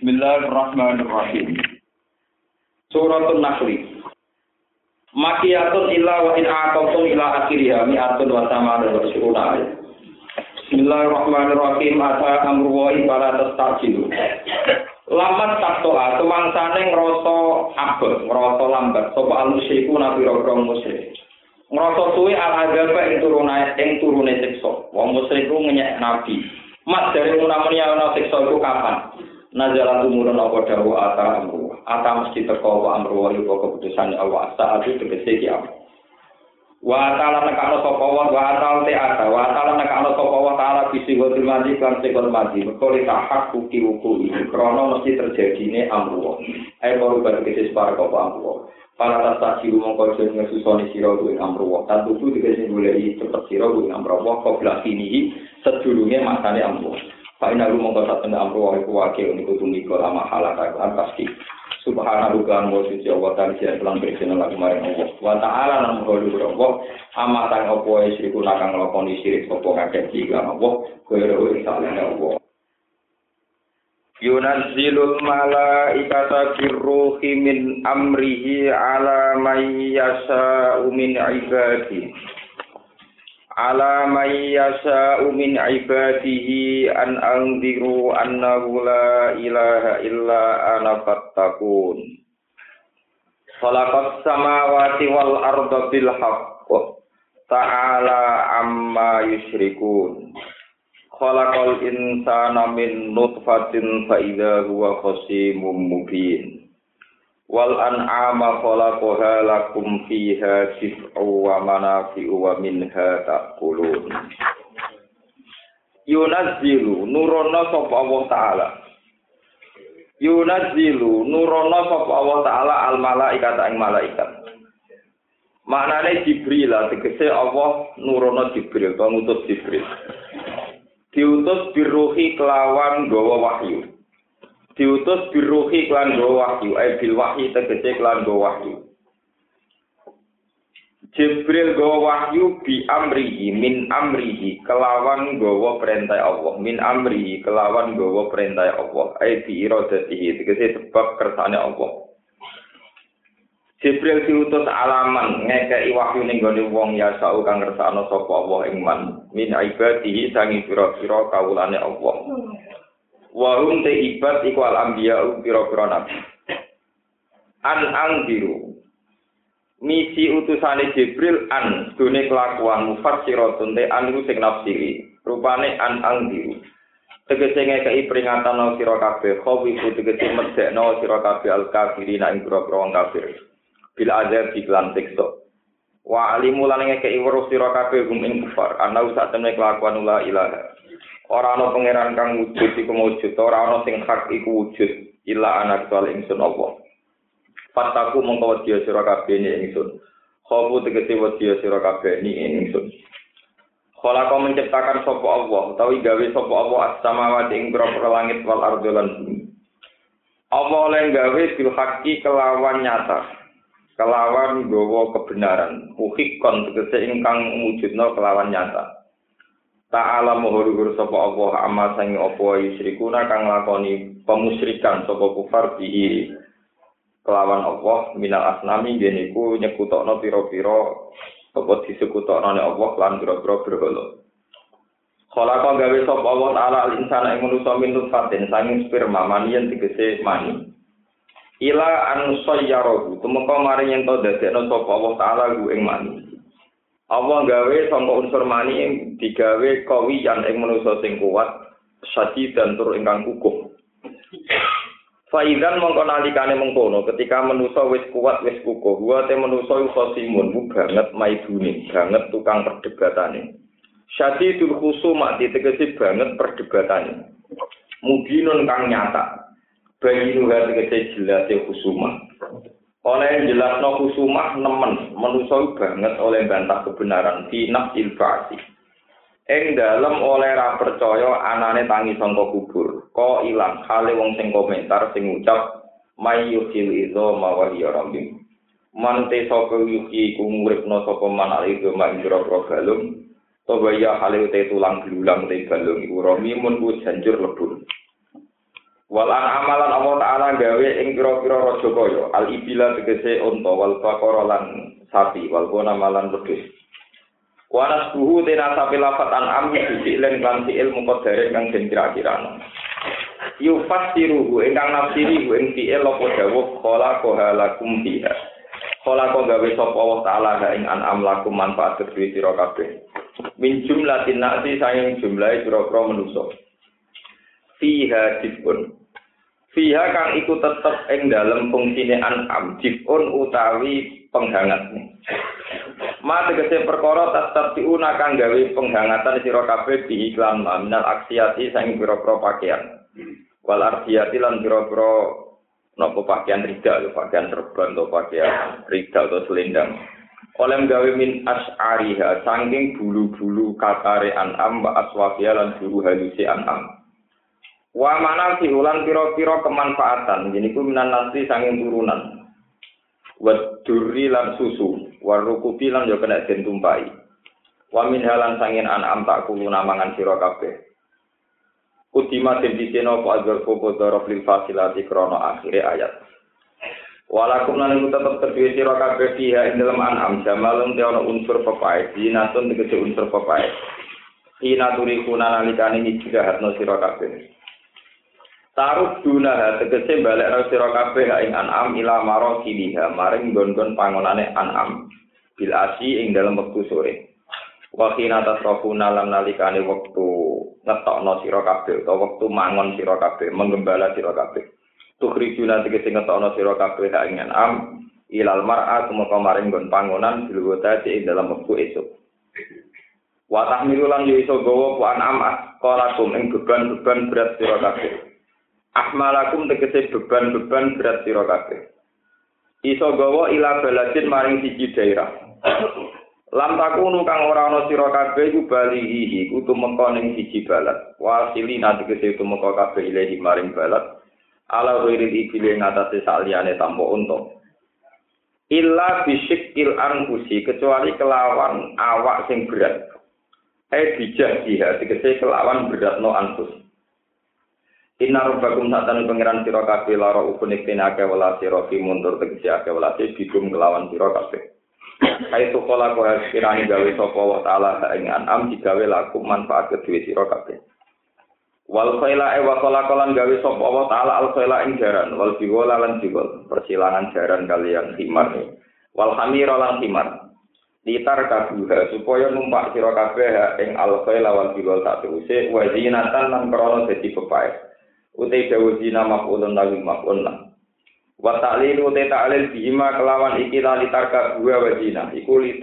Bismillahirrahmanirrahim. Suratul Nahl. Makiyatun illa wa in aqamtum ila akhiriha mi'atun wa tamanu wa syuruna. Bismillahirrahmanirrahim. Ata amru wa fala tastajilu. Lamat taktoa kemangsane ngrasa abot, ngrasa lambat sapa al-musyriku nabira-bira musyrik. Ngrasa suwe al-adzab ing turune siksa. Wong musyrik ku ngenyek nabi. Mat dari munamuni ana siksa iku kapan? Nazala tumurun apa dawuh ata amru. Ata mesti teko apa amru iku keputusane Allah saat itu tegese iki apa. Wa ta'ala nekano sapa wa ta'ala nekano sapa wa ta'ala bisi godil mati kan sekol mati. Bekole tahak bukti wuku iki krana mesti terjadine amru. Ae baru tegese separa apa amru. Para tasasi mongko jeneng susoni sira kuwi amru. Tan tutu tegese goleki cepet sira kuwi amru. Kok blasini sedurunge masane amru. Paina lu mongko saten amru iku wakil niku tumiko lama halaka pasti. Subhanahu wa suci wa ta'ala lan presena lan maring Allah. Wa ta'ala lan mulu Allah amatang opo isriku nakang nglakoni sirik opo kakek iki lan Allah koyo ing salene Allah. Yunazzilul malaikata birruhi min amrihi ala may yasha'u min ibadihi. Ala may yasha'u min ibadihi an anziru annahu la ilaha illa ana fattaqun. Khalaqas samawati wal arda bil haqq. Ta'ala amma yusyrikun. Khalaqal insana min nutfatin fa idza huwa khasimun mubin. Wal an'ama khalaqaha lakum fiha dif'u wa manafi'u wa minha ta'kulun. Yunazzilu nurono sapa Allah taala. Yunazzilu nurono sapa Allah taala al malaikata ing malaikat. Maknane Jibril tegese Allah nurono Jibril, ngutus Jibril. Diutus biruhi kelawan gawa wahyu. Diutus biruhi kelawan gawa wahyu, bil wahyi tegese kelawan gawa wahyu. Jibril gawa wahyu bi amrihi min amrihi kelawan gawa perintah Allah, min amrihi kelawan gawa perintah Allah, bi iradatihi tegese sebab kersane Allah. Jibril diutus alaman ngekeki wahyu ning gone wong ya sau kang ngersakno sapa Allah ing man min ibadihi sangi pira-pira kawulane Allah. Wa hum te ibad iku al anbiya pira-pira nabi. Anziru misi utusane Jibril an dene kelakuan mufassiratun te anu sing nafsiri rupane anziru tegese ngekeki peringatan sira kabeh khawifu tegese medekno sira kabeh al kafirina ing pira-pira wong kafir. Bil azab iklan teksto wa alimu lan ngekeki weruh sira kabeh gum ing kufar ana sak temne kelakuan la ilaha ora ana pangeran kang wujud iku wujud ora ana sing hak iku wujud illa ana kecuali ingsun Allah fataku mongko wedi sira kabeh ni ingsun khofu tegese wedi sira kabeh ni ingsun khalaqa menciptakan sapa Allah utawi gawe sapa Allah as-samawati ing pira-pira langit wal ardi lan bumi Allah oleh gawe bil haqqi kelawan nyata kelawan gawa kebenaran uhikon tegese ingkang mujudna kelawan nyata ta'ala muhur sapa Allah amma sang apa yusyrikuna kang lakoni pemusyrikan sapa kufar bihi kelawan Allah minal asnami geniku nyekutokno pira-pira apa disekutokno Allah lan pira-pira berhala khalaqa gawe sapa Allah taala al insana ing manusa min nutfatin sanging sperma maniyen tegese mani ila an sayyarahu tumeka mari yen to dadekno sapa Allah taala ku ing mani Allah gawe sangka unsur mani digawe kawiyan ing manusa sing kuat sadi dan tur ingkang kukuh faidan mongko nalikane mengkono ketika manusa wis kuat wis kukuh wa te manusa khosimun banget maidune banget tukang perdebatane syadidul khusumat tegese banget perdebatane mubinun kang nyata bagi nuha tegese jelas khusumah. Oleh jelasno khusumah nemen manusa banget oleh bantah kebenaran fi nafsil ba'si. Ing dalem oleh ra percaya anane tangi sangka kubur. Ko ilang hale wong sing komentar sing ngucap mayyuhil izo mawahiya rambim. Mante sapa yuki ku muripno sapa manal izo manjro galung. Tobaya hale te tulang belulang te galung iku ramimun ku janjur lebur. Walan amalan Allah Ta'ala gawe ing pira-pira raja kaya al-ibila tegese unta wal baqara lan sapi wal gona malan wedhus. Wanas buhu tena sapi lafat an'am difi'len lan fi'il muqaddar kang den kira-kirano. Yufasiruhu ingkang nafsiri ing fi'il apa dawuh khalaqa lakum fiha. Khalaqa gawe sapa Allah Ta'ala ing an'am lakum manfaat kedue sira kabeh. Min jumlatin nasi sayang jumlahe pira-pira manusa. Fiha difun. Fiha kang iku tetep ing dalem fungsine an'am difun utawi penghangatne. Ma tegese perkara tastabiuna kang gawe penghangatan sira kabeh di iklan minal aksiati saking pira-pira pakaian. Wal ardiyati lan pira-pira napa pakaian rida lho, pakaian serban atau pakaian rida atau selendang. Oleh gawe min as'ariha saking bulu-bulu katare an'am wa aswafiya lan bulu halusi an'am. Wa manal sihulan pira-pira kemanfaatan jeniku minan nasi saking turunan. Wa durri lan susu, wa rukubi lan yo kena den tumpai. Wa min halan sangin an'am tak kulo namangan sira kabeh. Udima den diceno apa agar popo dorof lil fasilati krana akhire ayat. Walakum lan tetep terduwe sira kabeh fiha ing dalem an'am jamalun te ana unsur pepae, dinatun tegese unsur pepae. Ina turikuna nalikane hijrahatno sira kabeh. Taruk dunaha tegese balekno sira kabeh ing an'am ila marosiliha maring nggon-nggon pangonane an'am bil asi ing dalem wektu sore. Wa khina tasrafuna lan nalikane wektu ngetokno sira kabeh utawa wektu mangon sira kabeh menggembala sira kabeh. Tukhrijuna tegese ngetokno sira kabeh ing an'am ilal mar'a tumeka maring nggon pangonan bilwota ing dalem wektu esuk. Wa tahmilu lan yo iso gawa ku an'am qalakum ing beban-beban berat sira kabeh. Ahmalakum tegese beban-beban berat sira kabeh. Iso gawa ila baladin maring siji daerah. Lam takunu kang ora ana sira kabeh iku balihi iku tumeka ning siji balad. Wasilina tegese tumeka kabeh ilahi maring balad. Ala wiril ibile ngatasé saliyane tanpa unta. Illa bisyikil anfusi kecuali kelawan awak sing berat. Bijah dia tegese kelawan beratno anfus. Inna rabbakum satane pangeran sira kabeh lara ukune kenake wala sira fi mundur tegese ake wala bigum kelawan sira kabeh. Kaitu kala kowe kirani gawe sapa wa taala ing an'am digawe laku manfaat kedue sira kabeh. Wal khaila wa khalaqalan gawe sapa wa taala al khaila ing jaran wal biwala lan biwal persilangan jaran kaliyan himar. Wal hamira lan himar. Ditar kabuha supaya numpak sira kabeh ing al khaila wal biwal sak teruse wa zinatan lan krana dadi pepae. Utai dawuh zina maf'ulun lahu maf'ulun. Wa ta'lilu utai ta'lil bihima kelawan iki lan litarka buah wa zina. Iku li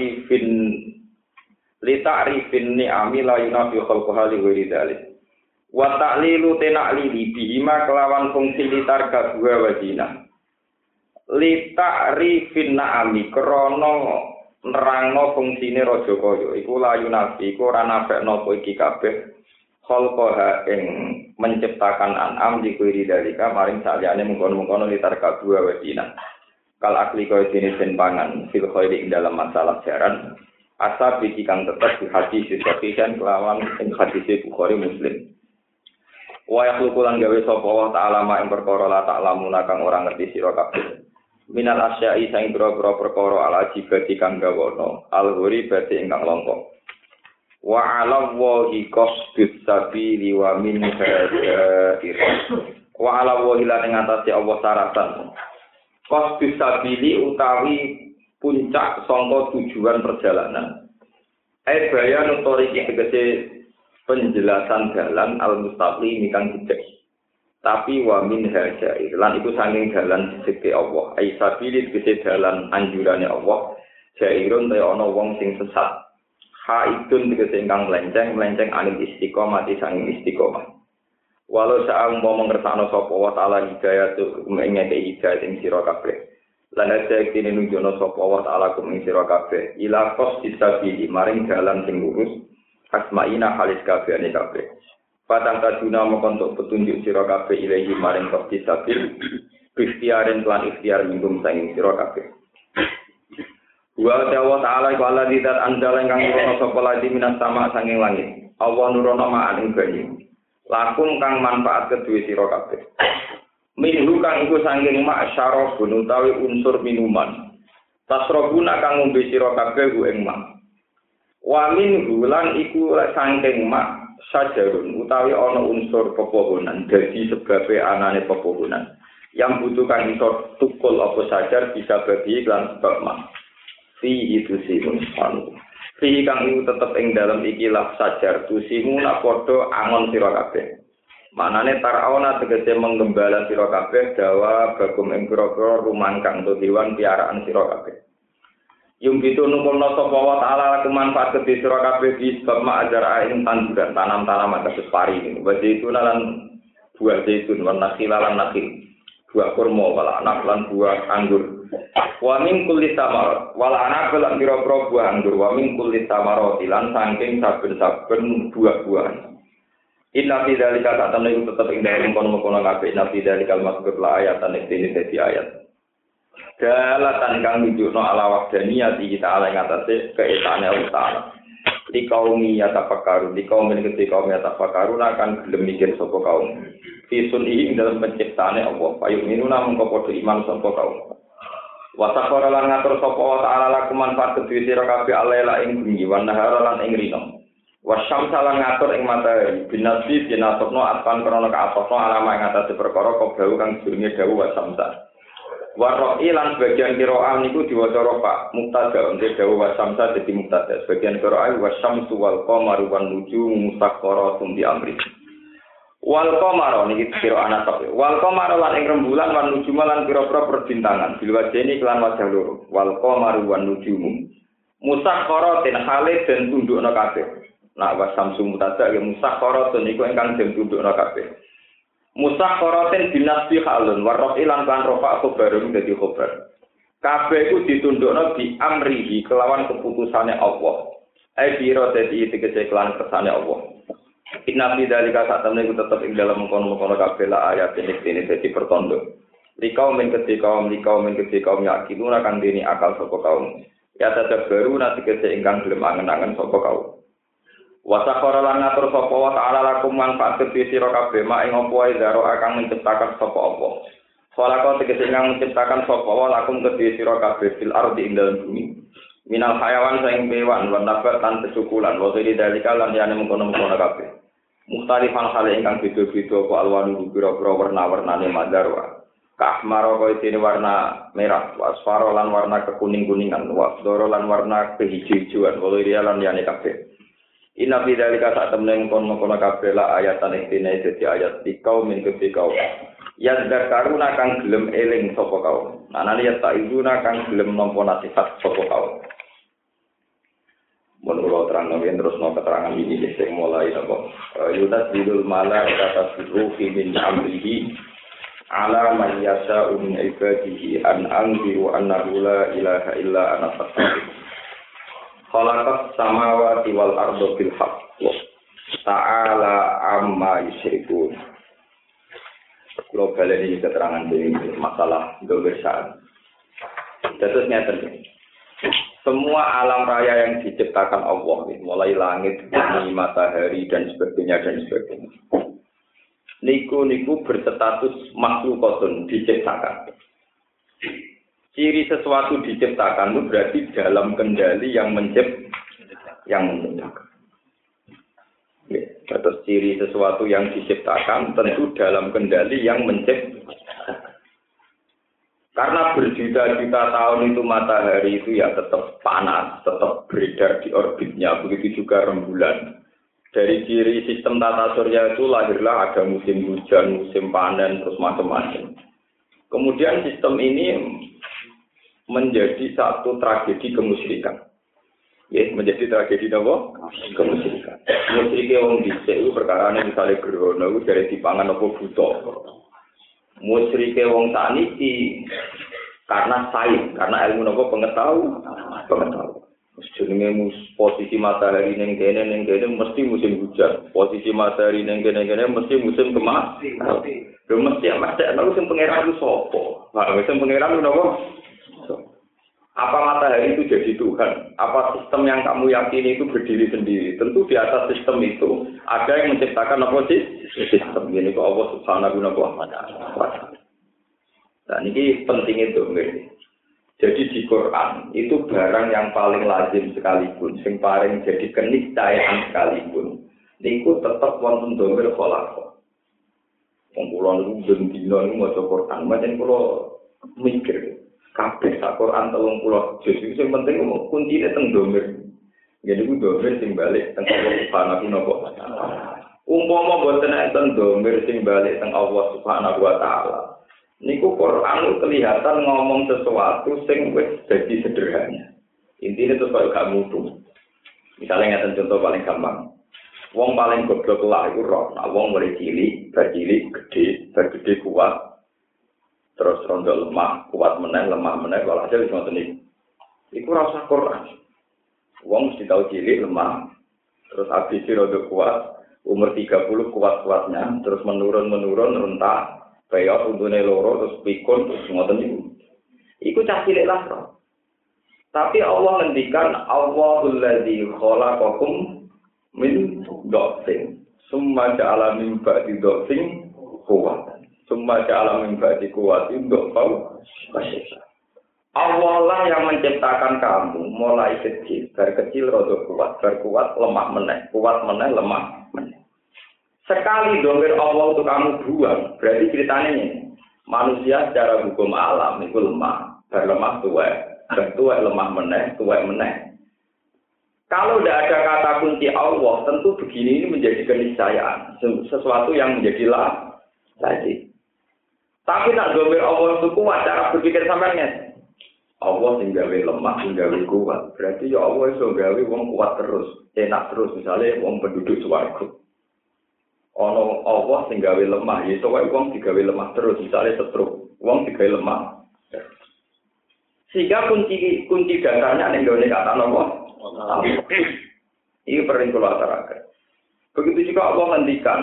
ta'rifin ni'ami la yunafi khalqaha li ghairi dzalik. Wa ta'lilu ta'lili bihima kelawan fungsi litarka buah wa zina. Li ta'rifin ni'ami krana nerangno fungsine raja kaya iku la yunafi iku ora nafekno iki kabeh. Khalqaha ing menciptakan an'am dikuiri dalika maring saliyane mengkono-mengkono litar kadua wajina. Kal akli kaya jenis den pangan fil khairi ing dalam masalah jaran asab iki kang tetep di hadis sahih kelawan ing hadis Bukhari Muslim. Wa yakhluqulan gawe sapa wa ta'ala ma ing perkara la ta'lamuna kang ora ngerti sira kabeh. Minal asya'i saing pira-pira perkara ala jibati kang gawono al-ghuri bati ingkang longkok. Wa 'ala wahi qasdus sabili wa min hadair. Wa 'ala wahi lan ing atase Allah syaratan. Qasdus sabili utawi puncak sangka tujuan perjalanan. Bayan utawi tegese penjelasan dalan al-mustaqim kang jejeg. Tapi wa min hadair lan iku saking dalan jejege Allah. Sabili tegese dalan anjurane Allah. Jairun te ana wong sing sesat. Haidun tegese ingkang melenceng anil istiqomah sanging istiqomah. Walau saang mau mengersakno sapa wa taala hidayah mengeke hidayah ing sira kabeh. Lan aja kene nunjukno sapa wa taala ing sira kabeh ila qos disabili maring dalan sing lurus asmaina halis kabehane kabeh. Patang kaduna mongko petunjuk sira kabeh ilahi maring qos disabil ikhtiaren lan ikhtiar minggum sanging sira kabeh. Wa ta'ala iku Allah didat anjala ingkang nurono sapa lagi minas sama sanging langit. Allah nurono ma'an ing banyu. lakum kang manfaat kedue sira kabeh. Minhu kang iku saking mak syarabun utawi unsur minuman. Tasrabuna kang ngombe sira kabeh ku ing mak. Wa minhu lan iku saking mak sajarun utawi ana unsur pepohonan dadi sebabe anane pepohonan. Yang butuh kang iso tukul apa sajar bisa bagi lan sebab mak. Fi itu simun panu. Fi kang iku tetep ing dalem ikilah sajar tusimu nak padha angon sira kabeh. Manane taraona tegese menggembala sira kabeh dawa bagum ing pira-pira rumangkang utawa hewan piaraan sira kabeh. Yung gitu nukulna sapa wa ta'ala laku manfaat kedhe sira kabeh di sebab ma'ajar ing tanduran tanam-tanaman kados pari ini. Wa zaitun lan buah zaitun wa nakhil lan nakhil. Buah kurma wala anak lan buah anggur. Wa min kulli samar wala anak lan pira-pira buah anggur wa min kulli samarati lan saking saben-saben buah-buahan. Inna fi dzalika ta'tamna iku tetep ing dalem kono-kono kabeh inna fi dzalika al-mazkur la ayatan iki dadi ayat. Dalatan kang nunjukno ala wahdaniyati kita ala ing atase keesane Allah Ta'ala. Di kaum yatafakkaru, di kaum yatafakkaru akan gelem mikir sapa kaum. Fi sun'i ing dalam penciptaane Allah, payu minuna mengko padha iman sapa kaum. Wa sakhara lan ngatur sapa wa ta'ala lakum manfaat kedue sira kabeh alaila ing bengi wa nahara lan ing rino. Wasyamsa lan ngatur ing matahari binasbi binasabno atpan krana kaapasno alama ing atase perkara kobau kang jenenge dawuh wasamsa. Waroi lan sebagian qiraah niku diwaca rafa mubtada untuk dawuh wasamsa dadi mubtada. Sebagian qiraah wasyamsu wal qamaru wan nujumu musakhkharatun bi amri. Wal qamaru niki qiraah nasab. Wal qamaru lan ing rembulan wan nujumu lan pira-pira perbintangan bil wajeni kelan wajah loro. Wal qamaru wan nujumu musakhkharatin hale den tundukna kabeh. Nak wasamsu mubtada ya musakhkharatun niku ingkang den tundukna kabeh. Musakhkharatin binasbi halun warrafi lan kan rafa khabarun dadi khabar. Kabeh iku ditundukna di amrihi kelawan keputusane Allah. Ai biro dadi tegese kelan kersane Allah. Inna fi dzalika satamne iku tetep ing dalem kono-kono kabeh la ayat ini dadi pertondo. Likau men kaum yakiluna kang dene akal sapa kaum. Ya tetep baru nanti tegese ingkang gelem angen-angen sapa kaum. Wasakhara lan ngatur sapa wa ta'ala lakum manfaat kedhe sira kabeh mak ing apa wae zaro akan menciptakan sapa apa. Khalaqa tegese ingkang menciptakan sapa wa lakum kedhe sira kabeh fil ardi ing dalem bumi. Minal hayawan saing kewan lan nabat lan kesukulan wa dari dalika lan yane mengkono-mengkono kabeh. Mukhtalifan hale ingkang beda-beda apa alwanu pira-pira warna-warnane madarwa. Kahmaro kaya dene warna merah, wasfaro lan warna kekuning-kuningan, wasdoro lan warna kehijau-hijauan, waliria lan yane kabeh. Inna fi dzalika satamna kono-kono kabeh la ayatan ikine dadi ayat dikau min kau. Ya zakaruna kang gelem eling sapa kaum. Anane ya taizuna kang gelem nampa nasihat sapa kaum. Menurut terang nabi terus no keterangan ini sing mulai napa. Yutas bidul mala kata ruhi min amrihi ala man yasha'u min ibadihi an anziru annahu la ilaha illa ana fastaghfir. Khalaqas samawati wal arda bil haqq. Ta'ala amma yusyrikun. Global ini keterangan dari masalah kebersamaan. Terusnya terjadi. Semua alam raya yang diciptakan Allah, mulai langit, bumi, matahari dan sebagainya. Niku berstatus makhlukatun diciptakan. Ciri sesuatu diciptakan itu berarti dalam kendali yang menciptakan. Ya, terus ciri sesuatu yang diciptakan tentu dalam kendali yang menciptakan. Karena berjuta-juta tahun itu matahari itu ya tetap panas, tetap beredar di orbitnya, begitu juga rembulan. Dari ciri sistem tata surya itu lahirlah ada musim hujan, musim panen, terus macam-macam. Kemudian sistem ini menjadi satu tragedi kemusyrikan. Ya, menjadi tragedi apa? Kemusyrikan. Musyrike wong dhisik iku perkarane misale gerhana iku dari dipangan apa buta. Musyrike wong saniki karena sains, karena ilmu apa pengetahuan. Jenenge posisi matahari ning kene mesti musim hujan. Posisi matahari ning kene mesti musim kemarau. Lho mesti ana sing pangeran ku sapa? Lah sing pangeran ku napa? Apa matahari itu jadi Tuhan? Apa sistem yang kamu yakini itu berdiri sendiri? Tentu di atas sistem itu ada yang menciptakan apa sih? Sistem ini kok Allah Subhanahu wa ta'ala. Nah, ini penting itu. Jadi di Quran itu barang yang paling lazim sekalipun, yang paling jadi keniscayaan sekalipun, niku tetap wonten domir kholaqah. Wong kula niku ben dina niku maca Quran, macam kula mikir kabeh sak Quran 30 juz iki sing penting kuncine teng domir. Jadi ku domir sing balik teng Allah Subhanahu wa ta'ala. Umpama boten enten domir sing balik teng Allah Subhanahu wa ta'ala. Niku Quran kelihatan ngomong sesuatu sing wis dadi sederhana. Intine terus kaya gak mutu. Misalnya ngeten contoh paling gampang. Wong paling goblok lah iku roh. Nah, wong mulai cilik, bercilik, gede kuat. Terus rondo lemah, kuat meneh, lemah meneh, walhasil wis ngoten iki. Iku ora usah Quran. Wong mesti tau cilik, lemah. Terus habis rondo kuat, umur 30 kuat-kuatnya, terus menurun rentak. Kaya untune loro terus pikun terus ngoten niku. Iku cah cilik lah, Bro. Tapi Allah ngendikan Allahul ladzi khalaqakum min dhafin. Summa ja'ala min ba'di dhafin quwwatan. Summa ja'ala min ba'di quwwatin dhafan wasyai'a. Allah lah yang menciptakan kamu mulai kecil, dari kecil rada kuat, dari kuat lemah meneh, kuat meneh lemah meneh. Sekali domir Allah untuk kamu buang, berarti ceritanya ini. Manusia secara hukum alam itu lemah, berlemah tuwek, bertuwek lemah meneh, tuwek meneh. Kalau tidak ada kata kunci Allah, tentu begini ini menjadi keniscayaan, sesuatu yang menjadi lazim. Tapi nak domir Allah itu kuat, cara berpikir sampean Allah tinggawe lemah, tinggawe kuat. Berarti ya Allah iso gawe wong kuat terus, enak terus, misalnya wong penduduk swarga. Ono Allah sing gawe lemah, ya sowae wong digawe lemah terus, misale setruk, wong digawe lemah. Sehingga kunci dasarnya ning gone kata napa? Ini perlu kula aturaken. Begitu juga Allah ngendikan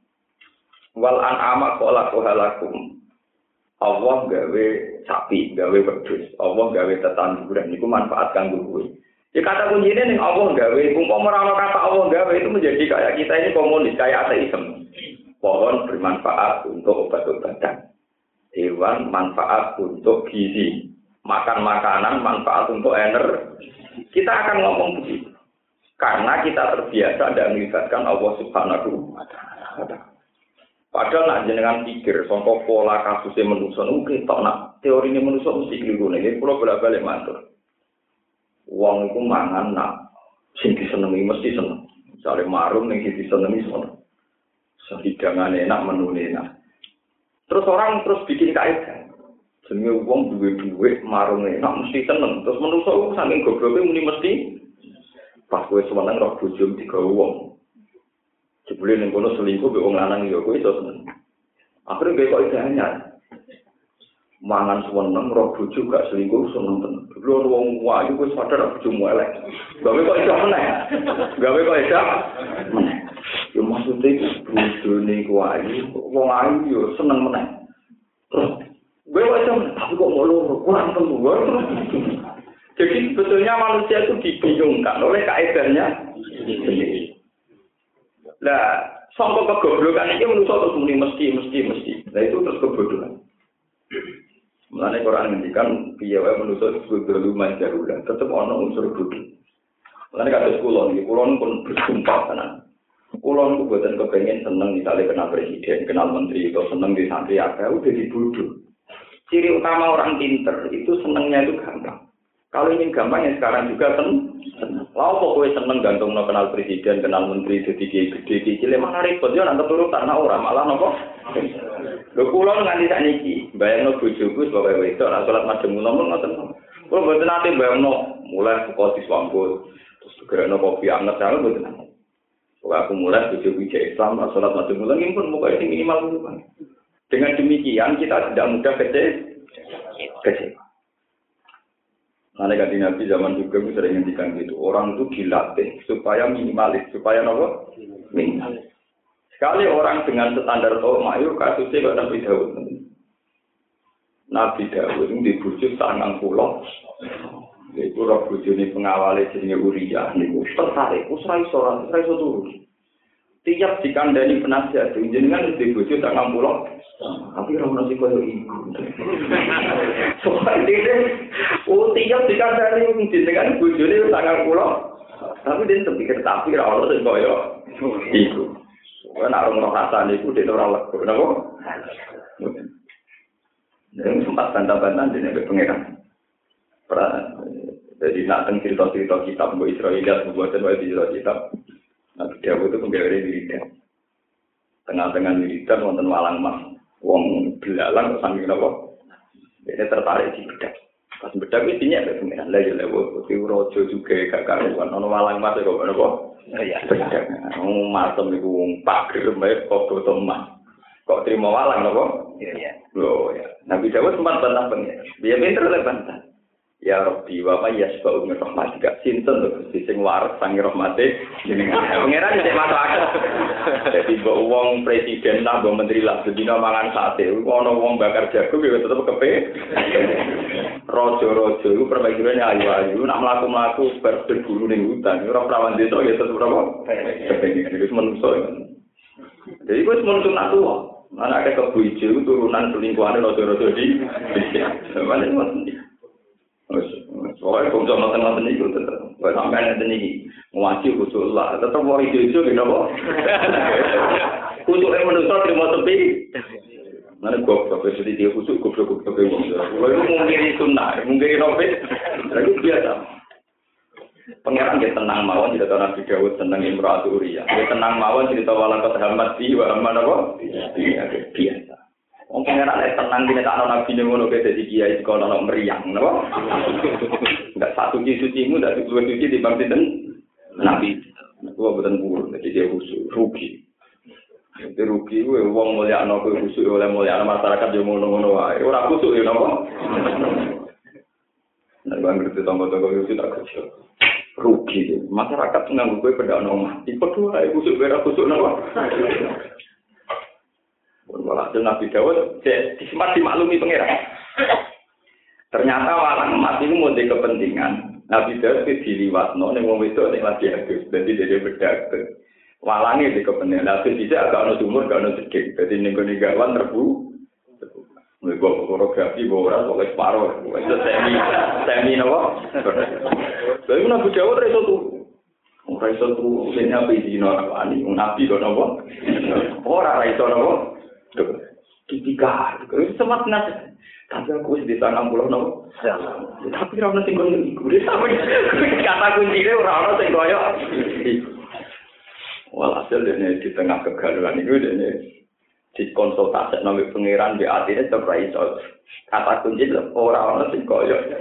wal an'ama khalaqalakum. Allah gawe sapi, gawe wedhus, Allah gawe tetanduran niku manfaat kanggo kowe. Ya kata kuncinya nih Allah gawe, umpama ora kata Allah gawe itu menjadi kayak kita ini komunis, kayak ateisme. Pohon bermanfaat untuk obat-obatan, hewan manfaat untuk gizi, makan makanan manfaat untuk energi. Kita akan ngomong begitu, karena kita terbiasa dan melibatkan Allah Subhanahu wa ta'ala. Padahal nak jenengan pikir, contoh pola kasusnya manusia, oke, tak nak teorinya manusia mesti keliru nih, pulau bolak-balik matur. Wong iku mangan nak sing disenengi mesti seneng. Misale marung ning disenengi seneng. Hidangan enak, menu enak. Terus orang terus bikin kaitan. Jenenge wong duwe dhuwit, marung enak mesti seneng. Terus menungso iku saking gobloke muni mesti pas kowe seneng roh bojo digawe wong. Jebule ning kono selingkuh mbek wong lanang ya kowe iso seneng. Akhire kowe kok idenya. Mangan seneng roh bojo gak selingkuh seneng tenan. Lho wong wayu wis sadar bojomu elek. Gawe kok iso meneh. Gawe kok iso meneh. Yo maksude bojone ku ayu, wong ayu yo seneng meneh. Terus gue iso tapi kok ngono kurang telu. Jadi sebetulnya manusia itu dibingungkan oleh kaedahnya sendiri. Lah, sampai kegoblokan ini manusia terus mesti. Nah itu terus kebodohan. Mulane Quran ngendikan piye wae manusa kudu lumayan jarulah, tetep ana unsur bodho. Mulane kados kula pun bersumpah tenan. Kula niku boten kepengin seneng misalnya kenal presiden, kenal menteri, atau seneng di santri akeh udah dibodoh. Ciri utama orang pinter itu senengnya itu gampang. Kalau ingin gampang ya sekarang juga seneng. Lah kok kowe seneng gantungno kenal presiden, kenal menteri dadi gede cilik malah repot yo nang keturutan ora malah napa. Lho kula nganti sakniki bayangno bojoku sebagai wedok nek salat madhep ngono ngoten. Kula mboten nate bayangno mulai buka diswambut terus gerakno kopi anget saya mboten nate. Kok aku mulai bojoku Islam nek salat madhep ngono pun muka sing minimal dulu. Dengan demikian kita tidak mudah kecewa. Karena kanjeng Nabi zaman juga sering ngendikan gitu, orang itu dilatih supaya minimalis, supaya apa? Minimalis. Sekali orang dengan standar mayu kasusnya kok Nabi Daud. Nabi Daud itu dibujuk 90. Iku roh bojone pengawale jenenge Uriah niku tertarik, ora iso turu. Tiap dikandani penasihat jenengan di bojo tak ngampulo. Tapi ora ono sing koyo iku. Soale tiap dikandani jenengan bojone tak ngampulo. Tapi dia pikir tapi ora ono sing koyo iku. Ora ono rasane iku dene ora lega, napa? Dan sempat bantah-bantah dene pengeran. Jadi nak teng cerita-cerita kitab Mbok Israeliat buatan wae cerita kitab. Nah, dia itu penggawe wiridan. Tengah-tengah wiridan wonten walang mas. Wong belalang sambil napa? Dia tertarik di bedak. Pas bedak iki dinyak lek pengen. Lah ya lewat kuwi raja juga gak karuan. Ono walang mas kok napa? Iya. Matem iku wong pagri mbek kok teman. Kok terima walang napa? Iya. Loh ya. Nabi Dawud sempat bantah pengen. Dia pinter lek bantah. Ya Rabbi wa may yasba'u min rahmatika sinten lho Gusti sing waras sang rahmate jenengan. Pangeran nek masuk akal. Dadi mbok wong presiden lah mbok menteri lah sedina mangan sate. Ono wong bakar jagung ya tetep kepe. Raja-raja iku permaisurane ayu-ayu nak mlaku-mlaku berburu ning hutan ora prawan desa ya tetep apa? Kepengen iki menungso. Jadi kuwi menungso nak tuwa. Ana akeh kebu ijo turunan selingkuhane raja-raja di. Sampeyan ngoten. Soalnya kalau sama teman-teman itu tetap, kalau sampai nanti ini ngaji khusus lah, tetap mau hijau gitu kok. Khusus yang manusia terima tepi. Mana gua seperti dia khusus gua manusia. Kalau itu mungkin sunnah, mungkin novel, lagi biasa. Pangeran dia tenang mawon cerita Nabi Dawud tentang Imra'atu Uriah. Dia tenang mawon cerita walaqad hammat bi wa hamman apa? Iya biasa. Wong pangeran nek tenang dene tak ana nabi ngono ke dadi kiai kok ana meriang napa? Enggak satu sucimu ndak dua suci di bang sinten nabi. Gua boten purun dadi dia rugi. Itu rugi kuwi wong mulya ana kuwi khusuk oleh mulya masyarakat yo ngono-ngono wae. Ora khusuk yo napa? Nek bang ngerti tangga-tangga yo tak kerja. Rugi masyarakat nganggo kuwi pedakno omah. Iku wae khusuk ora khusuk napa? Walhasil Nabi Dawud sempat dimaklumi pangeran. Ternyata walang emas itu mau kepentingan. Nabi Dawud itu diliwatno ning wong wedok ning lagi adus. Dadi dhewe bedak. Walange di kepentingan. Nabi bisa agak ono sumur, gak ono sedhik. Dadi ning gone gawan terbu. Mereka fotografi ora kok separo. Itu semi napa? Lalu Nabi Dawud iso tuh. Ora iso tuh sing apa iki Nabi kok napa? Ora iso napa? Tiga, itu sempat nasi. Tapi aku di sana pulau no. Tapi orang nasi goreng itu, kata kuncinya orang nasi goreng. Walhasil dia di tengah kegaduhan itu dia dikonsultasi nama pangeran di hatinya terbaik. Kata kunci orang nasi goreng.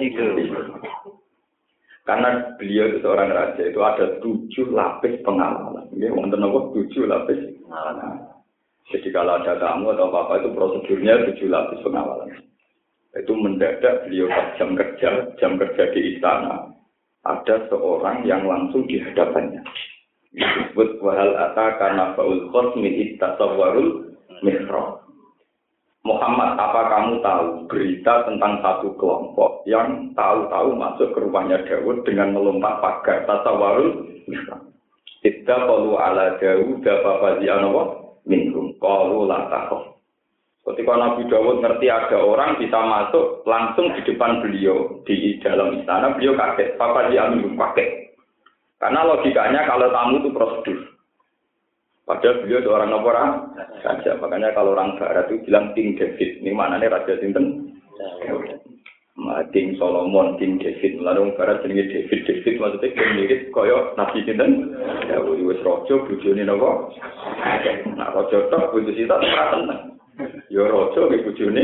Karena beliau itu seorang raja itu ada 7 lapis pengawalan. Dia wonten apa 7 lapis pengawalan. Jadi kalau ada tamu atau apa-apa itu prosedurnya 7 lapis pengawalan. Itu mendadak beliau pas jam kerja di istana. Ada seorang yang langsung di hadapannya. Disebut wahal ataka nafaul khosmi ittasawwarul mihrab. Muhammad, apa kamu tahu berita tentang satu kelompok yang tahu-tahu masuk ke rumahnya Daud dengan melompat pagar tasawwarul mihrab. Idza qalu ala Daud fafazi'anahu minhum qalu la takhaf. Ketika Nabi Dawud ngerti ada orang bisa masuk langsung di depan beliau di dalam istana, beliau kaget. Papa dia minum kaget. Karena logikanya kalau tamu itu prosedur. Padahal beliau seorang orang raja. Makanya kalau orang barat itu bilang King David. Ini maknanya raja sinten? King Solomon, King David. Lalu barat jenenge David maksudnya mirip kaya Nabi sinten? Dawud wis raja bojone napa? Nah raja tok bojo sita ora tenang. Ya raja iki bojone.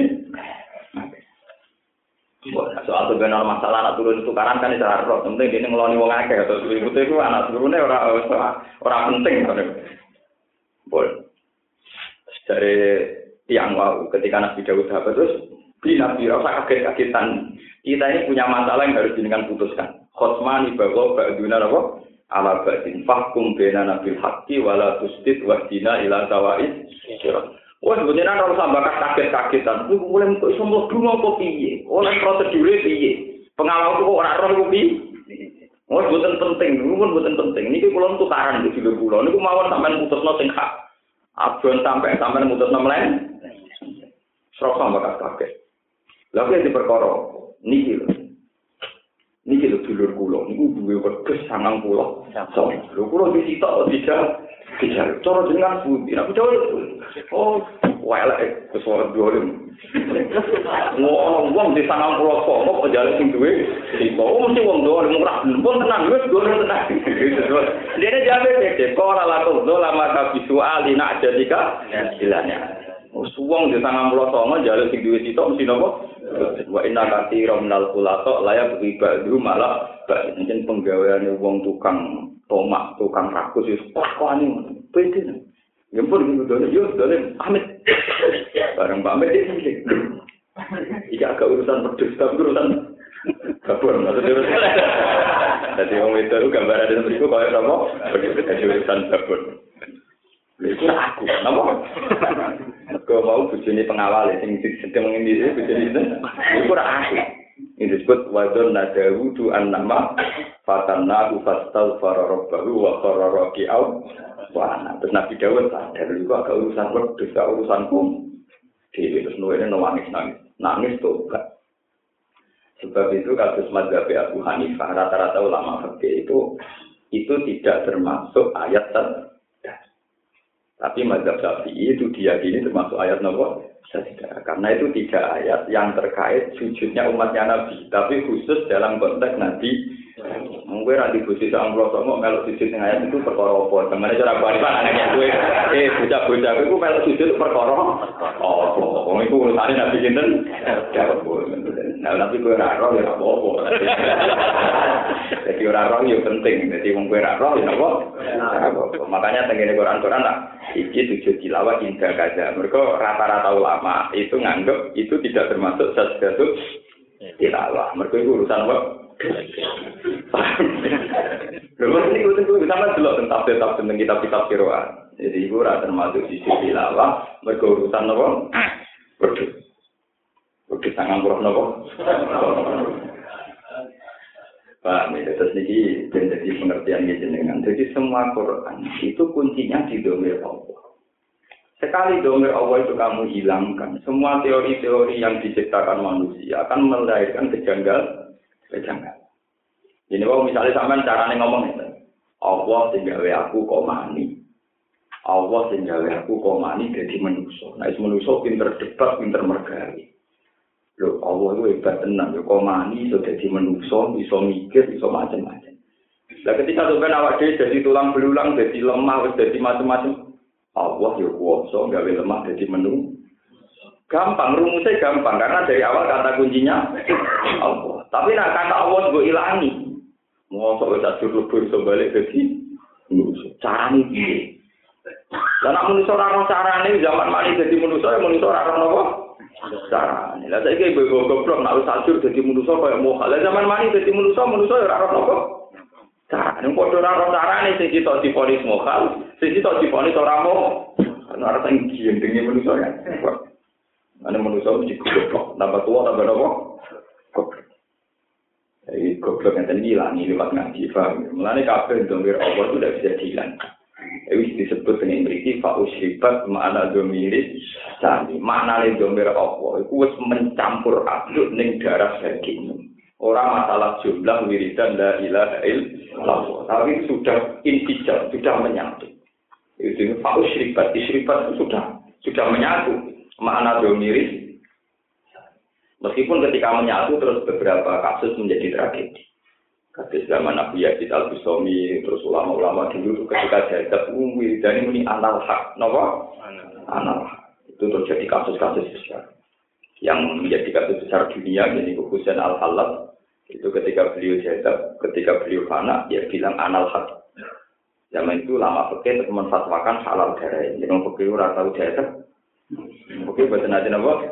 Soal benar masalah anak turun tukaran kan cara roh, penting dene ngeloni wong akeh atau ibu-ibu itu anak turune ora penting kan. Boleh. Dari tiang wau ketika Nabi Dawud dapat terus Nabi rasa kaget-kagetan. Kita ini punya masalah yang harus jenengan putuskan. Khosmani bahwa ba'duna apa? Ala ba'din fahkum bena nabil haqqi wala tusdid wahdina ila sawa'id sirat. Wah, sebenarnya kalau sampai kaget-kagetan, mulai untuk semua dulu apa piye? Oleh prosedurnya piye? Pengawal kok ora roh iku piye? Oh, mboten penting, mboten penting. Niki kula tukaran di dulur kula. Niku mawon sampean putusno sing hak. Abon sampean putusno mlen. Srok bakas kabeh. Lha kok diperkara niki lho. Niki lho dulur kula niku duwe wedhus 90. Lho kula disitok dijal. Cara jenengan pundi? Aku jawab. Oh, elek kesuara dolim. Wong di 90 kok jale sing duwe. Oh, mesti wong dolim ora pun tenan wis dolim tenan. Dene jabe dek ora laku lama kabisu alina jadika ilanya. Wong di 90 jale sing duwe sitok mesti napa? Wa inna katsiran minal khulata la yabghidu malah pancen penggaweane wong tukang tomak, tukang rakus wis pakane pede. Ya pun gitu dole amit. Bareng pamit iki. Iki agak urusan pedus tapi urusan kabur maksudnya. Dadi wong itu gambar ada mriku kaya apa? Urusan kabur. Iku aku, napa? Kok mau bojone pengawal sing sedeng ngendi bojone itu. Iku ora aku. Ini disebut wadon nadawudu an-nama fatannahu fastaghfara rabbahu wa qarra raki'au wa ana. Terus Nabi Dawud sadar iku agak urusan wedhus, urusanku. Dhewe terus nuwene nangis tobat. Sebab itu kasus mazhab Abu Hanifah rata-rata ulama fikih itu tidak termasuk ayat tapi mazhab Syafi'i itu diyakini termasuk ayat nomor sajdah. Karena itu tidak ayat yang terkait sujudnya umatnya Nabi, tapi khusus dalam konteks Nabi. Mungkin nanti busi sama Rasulullah melok sujud yang ayat itu perkara apa? Kemana cara balik anaknya gue? Bocah-bocah itu melok sujud perkara. Oh, itu urusannya Nabi Jinten. Nah, tapi gue raro ya apa-apa. Jadi raro ya penting. Jadi wong gue raro ya apa? Makanya tengene Quran lah. Iki sujud tilawah indah kaza. Mereka rata-rata ulama itu nganggep itu tidak termasuk sajdatul tilawah. Mereka itu urusan apa? Lalu ini kita sama delok tentang kitab-kitab qiraat. Jadi itu ora termasuk sujud tilawah. Mereka urusan apa? Wedhus sangang puluh napa? Pak, terus niki jadi pengertian jenengan. Jadi semua Quran itu kuncinya di domir Allah. Sekali domir Allah itu kamu hilangkan, semua teori-teori yang diciptakan manusia akan melahirkan kejanggalan. Jadi kalau misalnya sampean carane ngomong itu, Allah sing gawe aku kok mani. Allah sing gawe aku kok mani dadi manusa. Nek manusa pinter debat, pinter mergawe. Lho Allah itu hebat tenan, yo kok mani iso dadi manusa, iso mikir, iso macam-macam. Lah ketika sampean awak dhewe dadi tulang belulang, dadi lemah, wis dadi macam-macam. Allah yo kuwasa gawe lemah dadi manusa. Gampang, rumusnya gampang karena dari awal kata kuncinya Allah. Tapi nak kata Allah gue ilangi. Mau sok wis ajur lebur iso balik dadi manusa. Carane piye? Lah nek manusa ora ono carane zaman mani dadi manusa, ya manusa ora ono apa? Carane. Lah saiki ibu goblok nek wis ajur dadi manusa kaya moha. Lah zaman mani dadi manusa ya ora ono apa? Carane padha ora ono carane sing kita diponis moha, sing kita diponis ora moha. Ana ora sing gendenge manusa ya. Ana manusia mesti goblok, tambah tua tambah apa? Goblok. Jadi goblok yang tadi hilang lewat ngaji, paham? Mulanya kabeh domir Allah itu tidak bisa dihilang. Itu disebut dengan berarti fa'usribat makna domiris sani. Makna domir Allah itu mencampur aduk ning darah daging. Orang masalah jumlah wiridan la ilaha illallah, tapi sudah infijar, sudah menyatu. Itu fa'usribat, isribat itu sudah menyatu. Makna domiris, meskipun ketika menyatu terus beberapa kasus menjadi tragedi. Kasus zaman Nabi Yazid al-Bustami, terus ulama-ulama dulu ketika jadab dan ini anal hak, napa? Anal hak. Itu terjadi kasus-kasus besar yang menjadi kasus besar dunia. Jadi Husain al-Halab itu ketika beliau jadab, ketika beliau fana, dia bilang anal hak. Zaman itu lama fikih menfatwakan halal darah. Jadi fikih ora tahu jadab. Oke, bahasa nanti apa?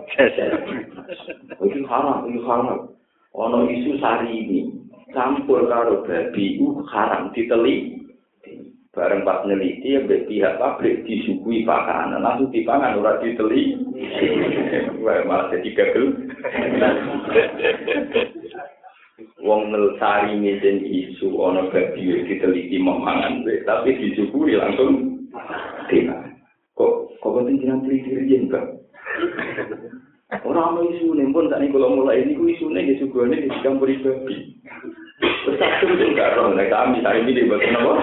Itu haram. Ono isu sari ini campur karo babi haram diteli. Bareng pas neliti ya pihak pabrik disuguhi pakanan, langsung dipangan ora diteli. Wah, malah jadi gagal. wong nelsari ngene isu ana babi diteliti memangan tapi disyukuri langsung dina. Kok penting jenengan teliti riyen, Bang? Ora ono isune pun sak niku mulai niku isune nggih sugone di campur babi. Wis tak tuju karo nek kami sari iki mboten napa.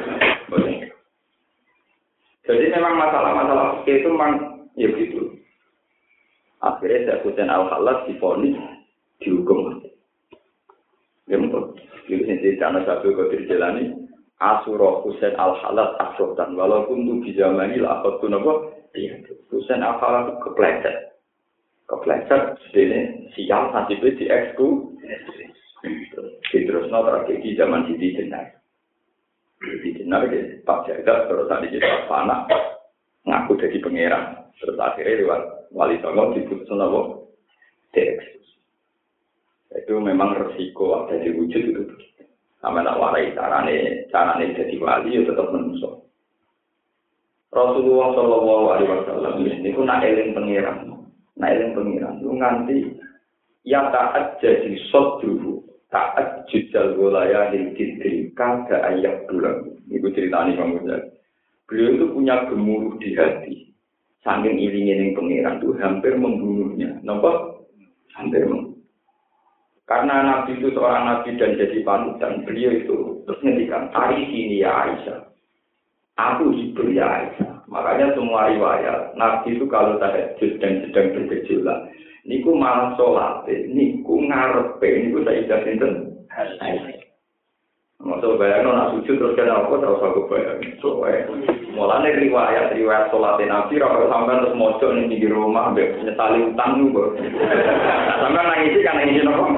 Jadi memang masalah-masalah itu memang ya gitu. Akhirnya saya Husain Al-Khallas divonis dihukum. Ya betul. Jadi sendiri karena satu kotir jalani Asurah Husain Al-Khallas aksotan walaupun itu di zaman ini lah aku nopo. Husain Al-Khallas kepleset sedene sial nasibnya di eksku. Terus tragedi zaman Siti Jenar. Siti Jenar ke Pak Jagat terus tadi kita panah ngaku jadi pangeran. Terus akhirnya lewat Wali Songo diputus nopo dieksekusi. Itu memang resiko ada di wujud itu. Sama tak warai carane jadi wali ya tetap menusuk. Rasulullah Shallallahu Alaihi Wasallam ini pun nak eling pangeran. Lu nganti ya taat jadi sot dulu, taat jujal golaya hindri kada ayak bulan. Ibu ceritanya Bang Muzal. Beliau itu punya gemuruh di hati. Saking iling-iling pangeran itu hampir membunuhnya. Nampak? Hampir membunuh. Karena Nabi itu seorang Nabi dan jadi panutan, beliau itu terus ngendikan, hari sini ya Aisyah, aku hibur ya Aisyah. Makanya semua riwayat, Nabi itu kalau tahajud dan sedang bergejolak, niku malah sholat, niku ngarepe, niku saya idah sinten Aisyah. Maksud bayangno nak sujud terus kena apa terus aku bayang. Mulane riwayat sholat Nabi ora sampean terus mojo ning pinggir rumah mbek nyetali utang niku. Sampeyan nangisi kan nangisi napa?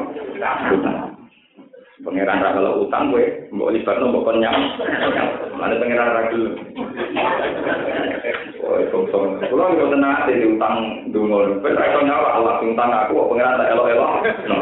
Pangeran ra kalau utang kowe mbok libatno mbok kon nyam. Mane pangeran ra gelem. Oh, kok kulo yo tenan ate utang dungo. Wis ra iso nyawa Allah utang aku kok pangeran tak elok-elok.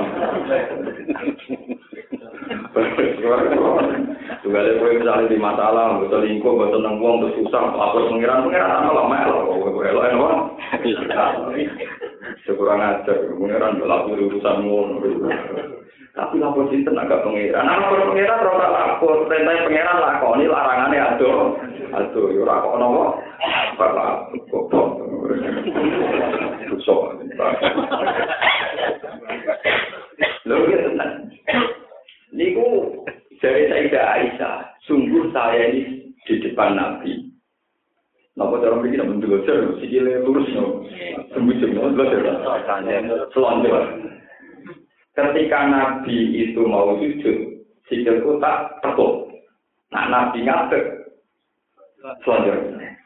Juga ada kowe misalnya di masalah, betul lingkup, betul nang wong terus susah, lapor pengiran sama lama elok sekurang ajar, pengiran lapor urusanmu. Tapi lapor sinten agak pengiran. Lapor pengiran ora lapor, perintah pengiran lakoni larangane aduh, yo ora kok nopo. Bapak goblok. Susah. Lho tenan. Niku dari Sayyidah Aisyah, sungguh saya ini di depan Nabi. Napa cara mriki nek belajar, sikile lurus no. Sembujung no belajar. Selonjor. Ketika Nabi itu mau sujud, sikilku tak tekuk. Nah Nabi ngadeg. Selonjor.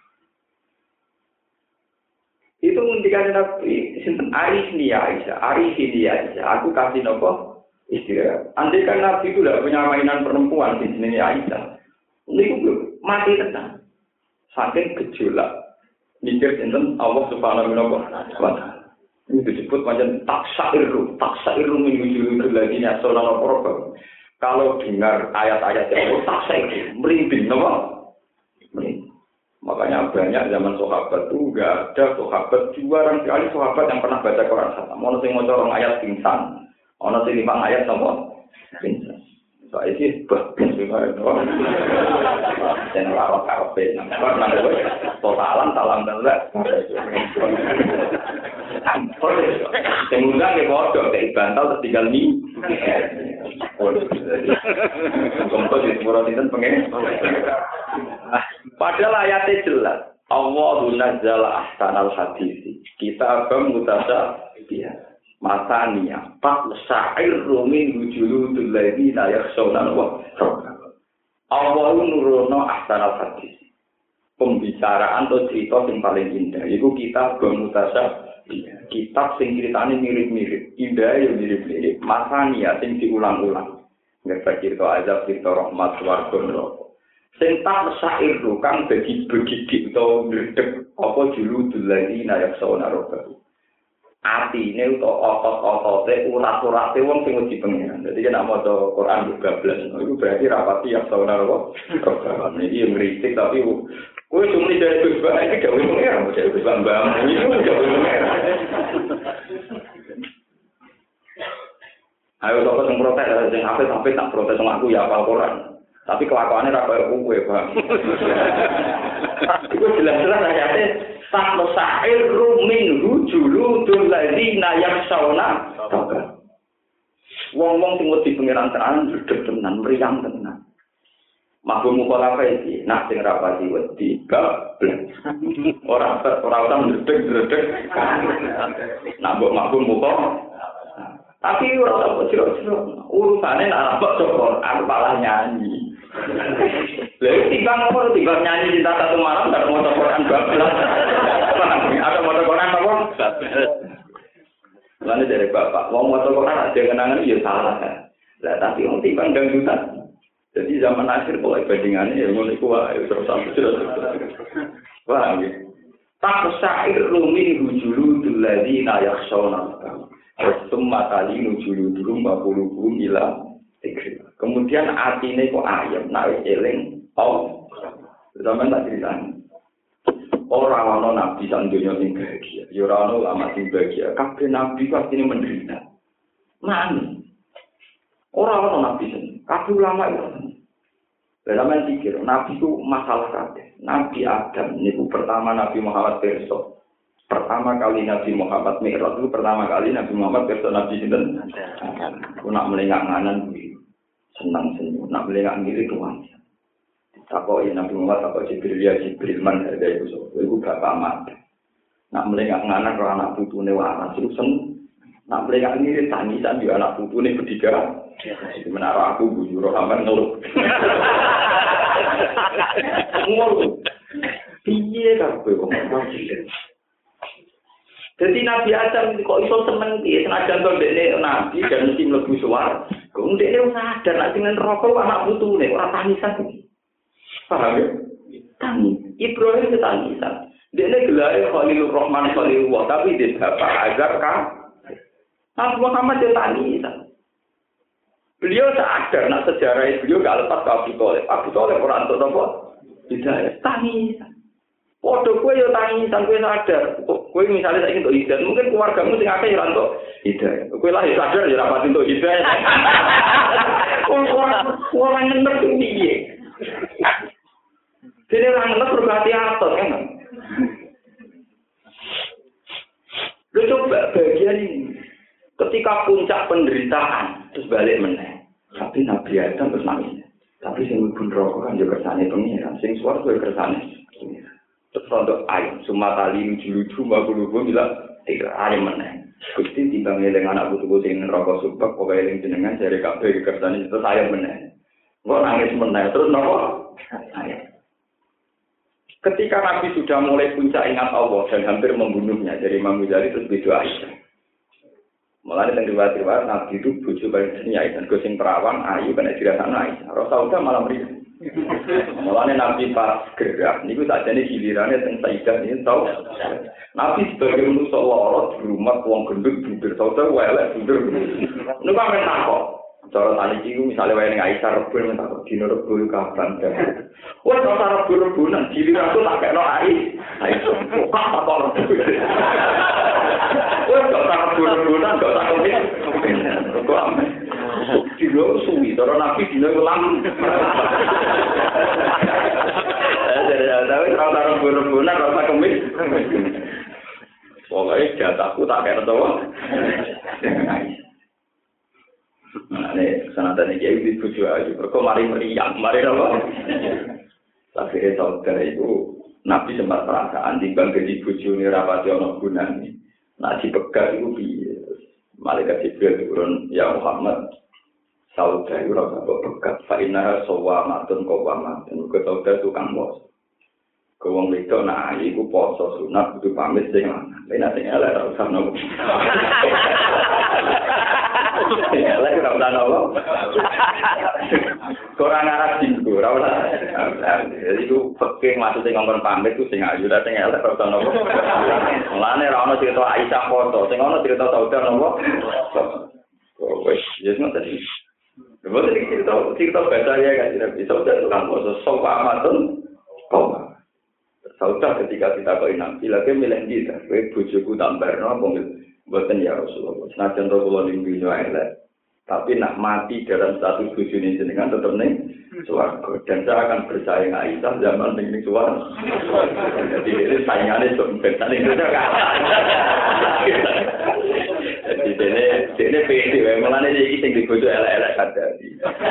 Itu ngendikan Nabi, sinten Arisni Aisyah, aku kasih napa? Istirahat. Andai kan Nabi itu tidak punya mainan perempuan di sini Aisyah, itu mati tenang. Saking gejolak, mikir tentang Allah Subhanahu wa Ta'ala. Ini disebut macam taksairu minggu lagi nih asal orang. Kalau dengar ayat-ayat yang taksairu, merinding, nama? Merinding. Makanya banyak zaman sahabat itu nggak ada sahabat, jarang sekali sahabat yang pernah baca Quran khatam. Mau nasi mau corong ayat pingsan. Ono sing lima ayat sama princess. Soale iki bagus juga itu. Dan ora karepe nang totalan salam dalek. Ampun. Semoga ke bodoh kayak bantal tertinggal ni. Contoh di semua sinten pengen. Padahal ayatnya jelas. Allahu nazzala ahsanal hadisi. Kitabam mutasyabiha. Masania, pak sa'ir rumin wujudul ladina yakhshawna wa Allah nurono ahsanal hadis. Pembicaraan atau cerita yang paling indah itu kitab bermutasab. Kitab sing ceritane mirip-mirip, indah ya mirip-mirip. Masania sing diulang-ulang. Ngerti cerita azab, cerita rahmat, swarga neraka. Sing tak sa'ir kang dadi begidik utawa ndredeg apa juludul ladina yakhshawna wa atine utawa otot-otote urat-urate wong sing wedi pengen. Dadi nek maca Quran bablas, iku berarti rapati ya saudara kok. Iki ngritik tapi kowe cuma dari Gus Bang iki gawe pengen, dari Gus Bang iki gawe pengen. Ayo sapa sing protes sing apik tak protes sama aku ya apal Quran. Tapi kelakuannya ra koyo kowe, Bang. Iku jelas-jelas ayate tak sa'ir min hujuludul ladzina yakhshawna. Wong-wong sing wedi pengiran tenan gedhe tenan, mriyang tenan. Mabuk mukalafa iki, nak sing rapati wedi gablek. Ora usah ndredeg-ndredeg. Nak mbok mabuk muka. Tapi ora usah ciro-ciro. Urusane nak mbok cokor, aku malah nyanyi. Lha timbang nyanyi cinta satu malam gak mau Quran bablas. Ada mau Quran apa? Lalu dari bapak, mau Quran ada kenangan ya salah kan. Lah tapi wong timbang dangdutan. Jadi zaman akhir mulai bandingannya ya mulai kuat terus wah gitu. Tak sa'ir rumin hujuludul ladzina yakhshawna. Summa talinu juluduhum wa qulubuhum ila dzikri. Kemudian atine kok ayem nek eling oh. Zaman tak ceritani. Ora ana nabi sak donya sing bahagia. Ya ora ana ulama sing bahagia. Kabeh nabi pasti menderita. Man. Ora ana nabi sing kabeh ulama itu. Dalam pikir, nabi itu masalah kabeh. Nabi Adam niku pertama Nabi Muhammad pirsa. Pertama kali Nabi Muhammad Mi'raj itu pertama kali Nabi Muhammad pirsa Nabi sinten? Aku nak melengak nganan kuwi. Senang senyum, nak melengak ngiri tuan. Takoki Nabi Muhammad takok Jibril ya Jibril man ada iku sapa? Iku bapak mati. Nak melengak nganan karo anak putune waras iku seneng. Nak melengak ngiri tangisan yo anak putune bertiga. Di menara aku bujur sampean ngeluh. Ngeluh. Piye kabeh kok jadi Nabi Adam kok iso seneng piye senajan kok dekne nabi dan mesti mlebu swarga. Kok dekne sadar nek sing neraka anak putune ora tangisan. Paham ya? Tangis. Ibrahim tangisan. Dekne gelare Khalilur Rahman Khalilullah tapi dia bapak Azar kan. Nabi Muhammad dia tangisan. Beliau sadar nak sejarah beliau gak lepas ke Abu Thalib. Abu Thalib ora entuk napa? Hidayah. Tangisan. Podo kowe yo tangisan kowe sadar. Kowe misalnya saiki entuk hidayah, mungkin keluargamu sing akeh ora entuk hidayah. Kowe lah sadar ya ora pati entuk hidayah. Orang ngendep piye? Dene ora ngendep berarti atos kan. Lu coba bagian ini. Ketika puncak penderitaan terus balik meneh. Tapi Nabi Adam terus nangis. Tapi sing mlebu neraka kan yo kersane pengiran, sing swarga yo kersane pengiran. Terus untuk ayam, sumatali lucu-lucu, bagus-bagus bilang, tiga ayam meneng. Gusti timbang eling anak putu sing neraka subak, pokoknya eling jenengan jare kabeh kersane terus ayam meneng. Kok nangis meneng terus napa? Ayam. Ketika Nabi sudah mulai puncak ingat Allah dan hampir membunuhnya dari Imam Ghazali terus berdoa Aisyah. Mulai dengan riwayat-riwayat Nabi itu bojo paling seni Aisyah, gosing perawan ayu kena dirasakno Aisyah. Rasulullah malam rindu. Mulane Nabi pas gerak niku sakjane gilirane teng Sayyidah ini tau. Nabi sebagai manusia lara di rumah wong gendut bunder sauda welek bunder. Niku kan takok. Cara tani iki misale wae ning Aisyah Rebo men takok dino Rebo kapan. Wes ora Rebo-rebonan giliran aku tak kena Aisyah. Kok takok. Wes ora Rebo-rebonan kok takok. Kok ame. Dino suwi, cara Nabi dino kelam. Tapi kalau rebun-rebunan, rasa kemis. Pokoknya jatahku tak kena tahu. Nah, ini sanatan ini jadi tujuh aja. Kok mari meriang, mari apa? Tapi saudara itu Nabi sempat perasaan timbang jadi bojo ini rapati ono gunane. Nah dipegat itu piye? Malaikat Jibril turun, ya Muhammad. Saudara itu rasa bekat. Fa'inah sawamatun qawamatun. Ke saudara tukang bos. Ke wong itu, nah, itu poso sunat, itu pamit sing lanang. Tapi nanti elek, ora usah nopo. Elek, ora usah nopo. Kurang arah jinggu, ora usah. Jadi itu peking maksudnya ngomong pamit, itu sing ayu, sing elek, ora usah nopo. Mulane ora ono cerita Aisyah foto, sing ono cerita saudara nopo. Wes, ya ngoten iki. Lha cerita baca ya kan, bisa udah tukang poso, sopa amatun, koma. Saudah ketika kita kau Nabi lagi milih kita, bojoku tambar, no, buatan ya Rasulullah. Senajan Rasulullah lingkungan elek, Tapi nak mati dalam status bojone jenengan tetep ning swarga. Dan saya akan bersaing Aisyah zaman ning swarga. Jadi ini saingannya sebentar itu kalah. Jadi ini pede, malah ini sing dibojo elek-elek kadari.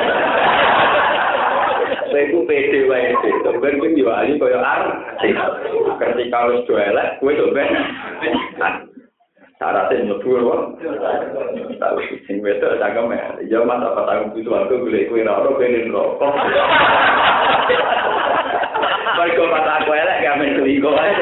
Saya itu pede wae itu, ben kuwi yo ali koyo artis. Ketika wis do elek, kuwi to ben. Syaratnya mlebu apa? Tahu sing wedok cangkem ya mas apa tanggung itu aku golek kowe ora ono ben rokok. Kok mata aku elek gak men selingkuh ae.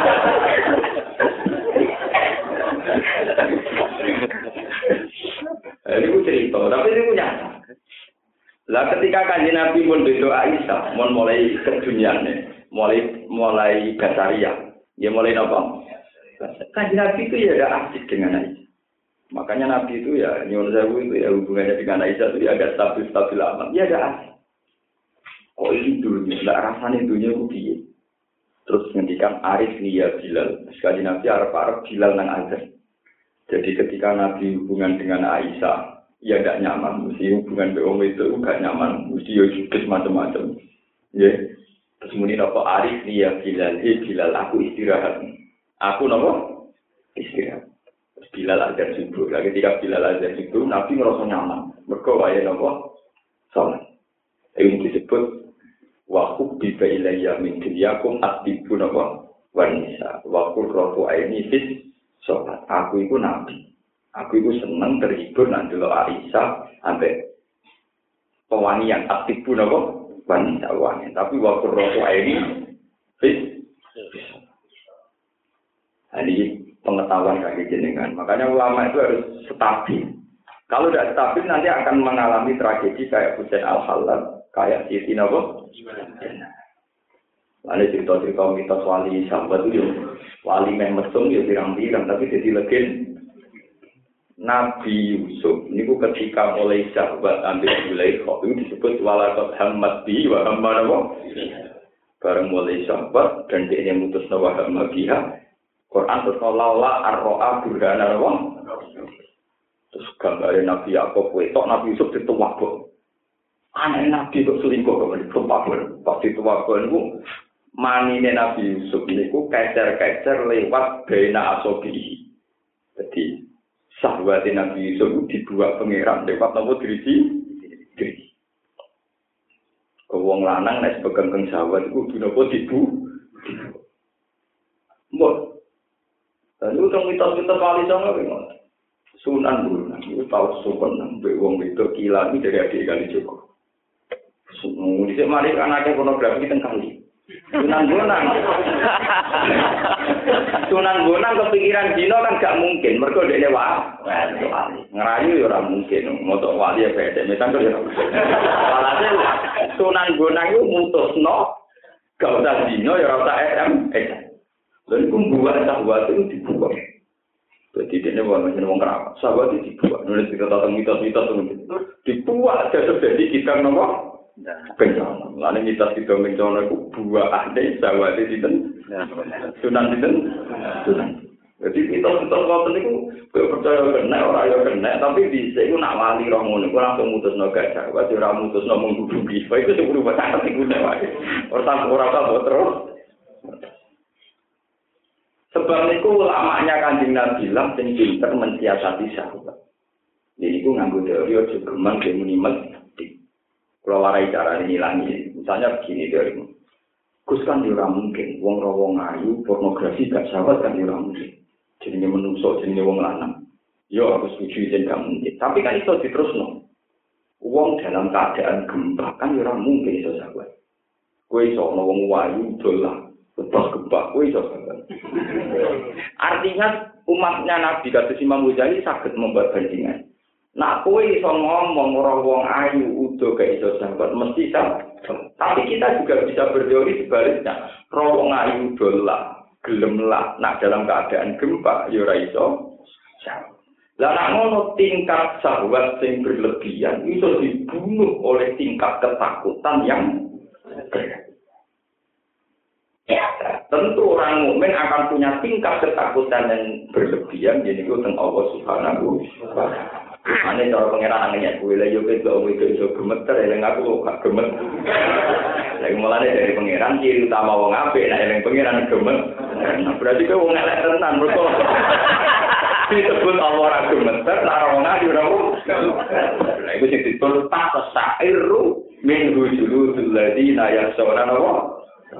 Ini ku cerita, tapi ini punya. Lah ketika Kanjeng Nabi mun doa Aisyah, mun mulai keduniane, mulai basaria, ya mulai napa? Kanjeng Nabi itu ya ada asik dengan Aisyah. Makanya Nabi itu ya nyuwun sewu itu ya hubungannya dengan Aisyah itu ya agak stabil aman. Ya ada asik. Oh ini dunia, enggak rasanya dunia ku piye. Terus ngendikan Arif ya Bilal. Sekali Nabi arep Bilal nang azan. Jadi ketika Nabi hubungan dengan Aisyah, ya enggak nyaman. Mesti hubungan dengan itu enggak nyaman. Mesti yo judes macam-macam. Ya. Terus muni apa Arif ya Bilal. Bilal aku istirahat. Aku napa? Istirahat. Terus Bilal azan subuh. Ketika Bilal azan subuh, Nabi ngerasa nyaman. Mergo wae napa? Salat. Ini disebut wa hubbiba ilayya min dunyakum atibun apa wanisa wa qurratu aini fis salat. Aku iku nabi. Aku iku seneng terhibur nang delok Aisyah ambek pewangian atibun apa wanisa wanita. Tapi wa qurratu aini fis. Ini pengetahuan kaki jenengan. Makanya ulama itu harus stabil. Kalau tidak stabil nanti akan mengalami tragedi kayak Husain Al-Hallal. Kayak Siti Nabo, ada cerita-cerita mitos wali sahabat itu, wali mesum ya pirang-pirang, tapi jadi legend. Nabi Yusuf, ini ketika mulai sahabat ambil Zulaikha itu disebut walaqad hammat bi wa hamma nabo. Bareng mulai sahabat dan dia yang mutus nawa hamma biha, Quran terus laula ar-ro'a burhana nabo. Terus gambarnya Nabi Yakub, tok Nabi Yusuf dituwak kok. Anak Nabi kok selingkuh kok tuwakon. Pasti tuwakon niku manine Nabi Yusuf niku kecer-kecer lewat bena asobi. Jadi sahabat Nabi Yusuf dibuat pangeran lewat nopo driji. Wong lanang nek pegang sahabat iku kudu nopo dibu. Mbok. Lalu tong mitos-mitos wali songo ngono. Sunan Bonang itu tahu sopan mbek wong wedok kilan iki dari adik kali Joko. Dhisik mari anake pornografi teng kali. Sunan Bonang kepikiran dino kan gak mungkin, mergo dekne wali. Ngerayu ya ora mungkin, moto wali ya beda. Mesan kok ya. Walhasil Sunan Bonang iku mutusno gak usah dino ya ora usah SM. Lha iku buat sahabat itu dibuang. Jadi dia macam orang keramat. Sahabat itu dibuat. Nulis kita tentang mitos-mitos dibuat. Jadi kita nomor bencana. Lalu mitos kita bencana itu buah ade sahabat itu Sunan itu Sunan. Jadi mitos-mitos kau itu percaya kena orang yang kena. Tapi bisa itu nak wali romo itu langsung mutus naga sahabat. Orang mutus nomor menghudupi. Itu sebelum bercakap itu orang tahu terus. Sebab itu ulamanya Kanjeng Nabi bilang sing pinter mensiasati sahabat. Jadi itu nganggo teori ojo geman demuni mesti. Kalau warai cara ngilangi, misalnya begini teori. Gus kan ora mungkin wong ra wong ayu pornografi gak sahabat kan ora mungkin. Jenenge menungso jenenge wong lanang. Yo aku setuju yen gak mungkin. Tapi kan iso diterusno. Wong dalam keadaan gempa kan ora mungkin iso sahabat. Kowe iso ono wong ayu dolan lepas gempa, artinya umatnya Nabi kata Imam Ghazali sakit membuat bandingan. Nah, kowe iso ngomong orang wong ayu udo gak iso sahabat mesti sama. Tapi kita juga bisa berteori sebaliknya. Wong ayu dolah, gelemlah, nak dalam keadaan gempa ya ora iso sahabat. Lah nak ngono tingkat sahabat sing berlebihan iso dibunuh oleh tingkat ketakutan yang berat. Tentu orang mukmin akan punya tingkat ketakutan yang berlebihan, jadi itu tentang Allah Subhanahu wa Ta'ala. Ane cara pangeran ngenyek kowe lha yo kowe iso gemeter eling aku gak gemet. Lha mulane dari pangeran ciri utama wong apik nek eling pangeran gemet. Berarti kowe wong elek tenan mergo disebut Allah ora gemeter ora wong ayu ora. Lha iku sing disebut tasairu min hujulul ladina yasawna wa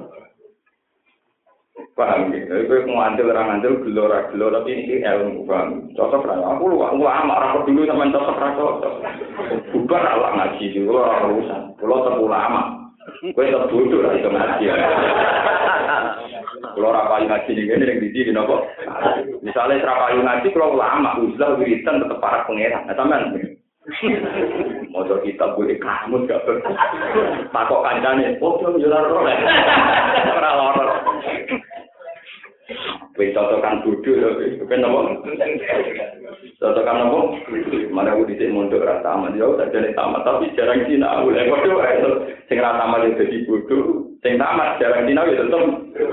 paham gitu, itu ngandel orang ngandel gelora tapi ini ilmu paham, cocok lah. Aku lama rapor dulu sama cocok. Bukan ala ngaji dulu orang urusan, kalau terlalu lama, gue tetap bodoh lah itu ngaji. Kalau rapayu ngaji ini yang di sini nopo. Misalnya rapayu ngaji kalau lama, uzlah wiridan tetap para pangeran, teman. Motor kita boleh kamu gak takut kancane, oh jangan jualan roh, orang loror. Wis cocokan bodho ya, ben apa? Cocokan apa? Mana aku dhisik mondok ra tamat ya, tak jane tamat tapi jarang sinau. Lha padha wae sing ra tamat yo dadi bodho, sing tamat jarang sinau ya tetep.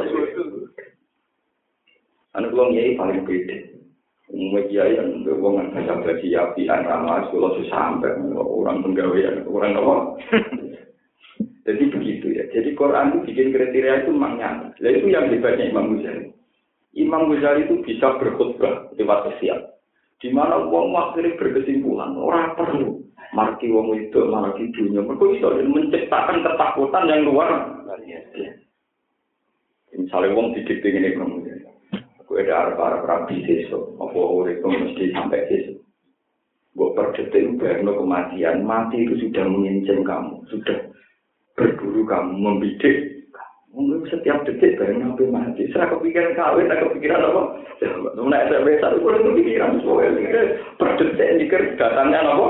Anu wong yai paling beda. Umumnya kiai yang berhubungan dengan bagi api, ramah, sekolah sampai orang penggawean, orang apa? Jadi begitu ya. Jadi Quran itu bikin kriteria itu memang nyata. Nah, itu yang hebatnya Imam Ghazali. Imam Ghazali itu bisa berkhutbah lewat siap. Di mana wong akhirnya berkesimpulan orang perlu marki wong itu marki dunia. Mereka bisa menciptakan ketakutan yang luar biasa. Misalnya wong didikte ini Imam Ghazali. Aku ada arah rabi sesuk, apa urip mesti sampai sesuk. Gue per detik bayangno kematian, mati itu sudah mengincin kamu, sudah berburu kamu, membidik. Mungkin setiap detik bayangno sampai mati. Saya kepikiran kawin, saya kepikiran apa? Nek saya besar, aku udah kepikiran soalnya. Per detik mikir datangnya apa?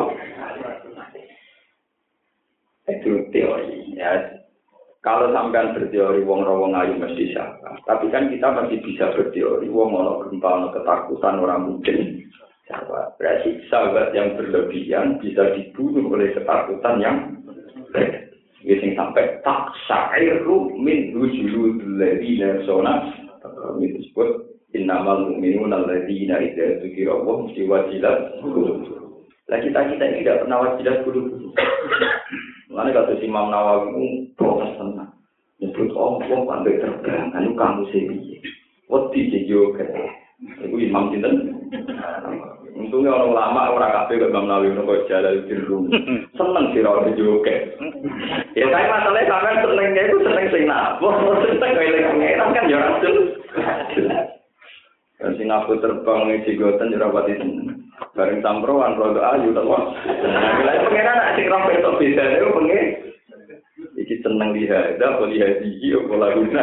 Itu teori ya. Kalau sampean berteori wong ayu mesti siapa. Tapi kan kita masih bisa berteori wong ono gempa, ono ketakutan orang mungkin siapa. Berarti sahabat yang berlebihan bisa dibunuh oleh ketakutan yang berat. Yang sampai tak syairu min hujulul ladina sona. Itu disebut innamal mu'minuna alladzina idza dzukira Allah wajilat qulubuhum. Lah kita ini tidak pernah wajilat qulubuhum. Mana kata Imam Nawawi protes tenang. Nyebut Allah pandai terbang, anu kamu sendiri. Wati juga. Itu Imam Sinten. Untungnya orang lama orang kafe ke Imam Nawawi nopo jalan biru. Seneng sih orang juga. Ya tapi masalahnya sampai senengnya itu seneng sing napa. Seneng kayak pangeran kan ya rasul. Dan Singapura terbang nih cigotan jerawat itu. Bareng samproan rodo ayu to kok. Lah pangeran sing ra beto beda niku pengen. Iki seneng lihat, apa lihat iki apa laguna.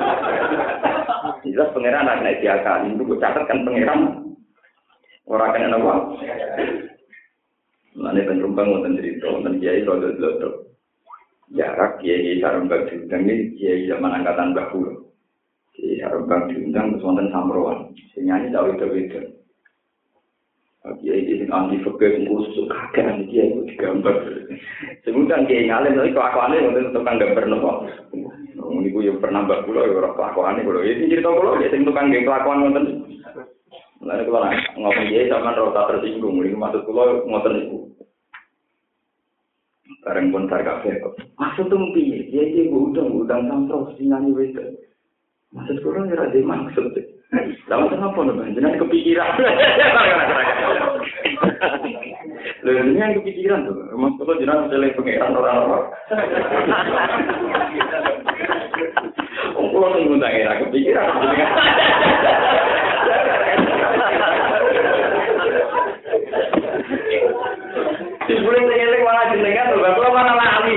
Jelas pangeran nek diakali itu catat kan pangeran. Ora kena napa. Mane penumpang wonten cerita wonten kiai rodo lodo. Jarak kiai sarembang diundang iki kiai zaman angkatan Mbah Kulo. Kiai sarembang diundang terus wonten samproan. Sing nyanyi dawe-dawe. Kiai ini anti fakir khusus kakek dia itu digambar. Sebenarnya kiai ngalim tapi kelakuannya untuk tukang gambar nopo. Ini gue yang pernah mbak pulau ya orang kelakuannya pulau. Ini cerita pulau ya tukang game kelakuan nonton. Lalu kalau ngomong kiai sama rota tersinggung, ini maksud pulau nonton itu. Bareng pun tar kafe kok. Maksud tuh piye? Kiai gue udang sampai sinani wes. Maksud pulau ya ada maksud. Lalu kenapa nih? Jangan kepikiran. Lalu ini yang kepikiran tuh. Maksudnya jangan mencari pengeran orang-orang. Kalau tunggu tak kira kepikiran. Sebelum menyelik malah jenengan tuh. Kalau mana lali.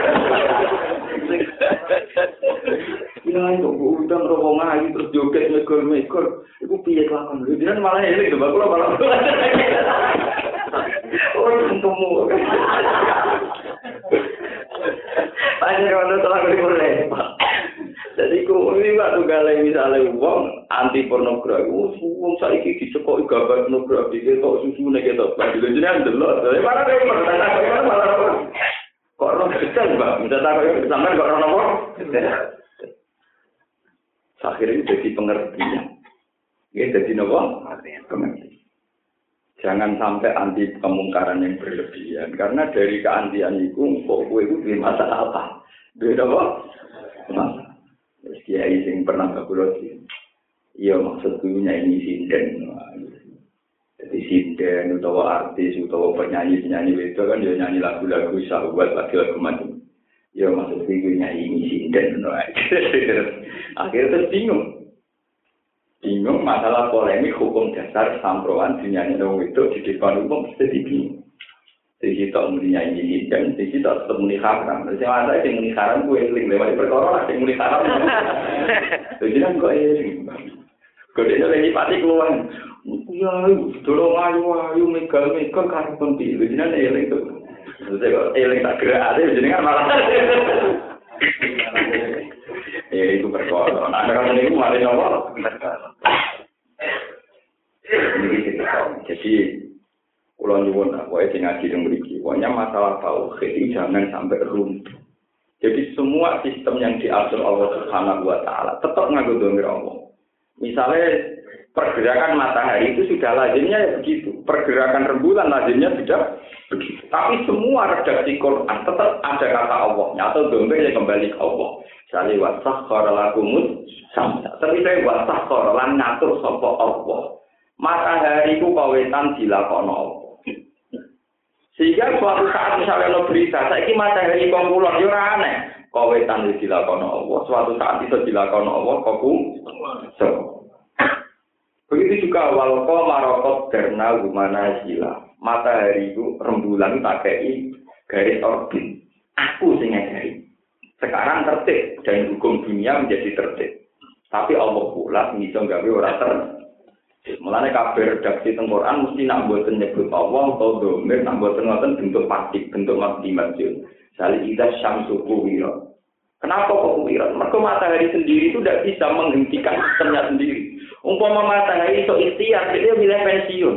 Ya itu udang rombong ayu terus joget megor-megor. Iku piye kelakuan lho. Jenengan malah eling to, kula malah. Oh, ketemu. Panjang ono telah boleh. Jadi ku ini Pak tunggale misale wong anti pornografi, wong saiki dicekoki gambar pornografi ketok susune ketok. Jenengan delok. Malah malah kok ora detail, Mbak. Minta tak sampean kok ora nopo? Akhirnya jadi pengertian. Ya jadi nopo? Pengertian. Jangan sampai anti kemungkaran yang berlebihan. Karena dari keantian itu, kok gue itu di masalah apa? Beda apa? Masalah. Terus kiai sing pernah bakulo sih. Iya maksudnya ini sinden. Jadi sinden, utawa artis, utawa penyanyi-penyanyi itu kan dia nyanyi lagu-lagu sahabat, lagu-lagu macam. Ya maksudnya ini sinden. Akhirnya terus bingung masalah polemik hukum dasar samproan dinyanyi dong itu di depan umum jadi bingung. Jadi kita meninya ini dan jadi kita tetap menikahkan. Jadi ada yang menikahkan gue eling lewat perkara, ada yang menikahkan. Jadi kan gue eling. Gue dia lagi pati keluar. Ya, tolong ayu megal karena penting. Jadi nanti eling itu. Jadi kalau eling tak gerak aja, jadi kan malah. Itu perkara. Nah, kalau ini malah nomor. Jadi kalau nyuwun aku sing ngaji yang mriki, pokoknya masalah tauhid itu jangan sampai runtuh. Jadi semua sistem yang diatur Allah Subhanahu wa taala tetap nganggo domir Allah. Misalnya pergerakan matahari itu sudah lazimnya begitu. Pergerakan rembulan lazimnya sudah begitu. Tapi semua redaksi Quran tetap ada kata Allahnya atau domirnya kembali ke Allah. Misalnya wasakhkhara lakumut samsa. Tapi saya wasakhkhara lan ngatur sapa Allah. Matahari itu kawetan dilakono Allah. Sehingga suatu saat misalnya lo berita, saiki matahari kongkulon yo ora aneh. Kawetan dilakono Allah, suatu saat itu dilakono Allah so. Begitu juga wal qamaraqad darna gumana sila. Matahari itu rembulan tak kei garis orbit. Aku sing ngajari. Sekarang tertib dan hukum dunia menjadi tertib. Tapi Allah pula bisa gawe ora tertib. Mulane kabeh redaksi teng Quran mesti nak mboten nyebut Allah atau domir, nak mboten ngoten bentuk pasif, bentuk maksimum. Sali ida syamsu kuwira. Kenapa kok kuwira? Mergo matahari sendiri itu tidak bisa menghentikan sistemnya sendiri. Umpama matahari iso ikhtiar, dia milih pensiun.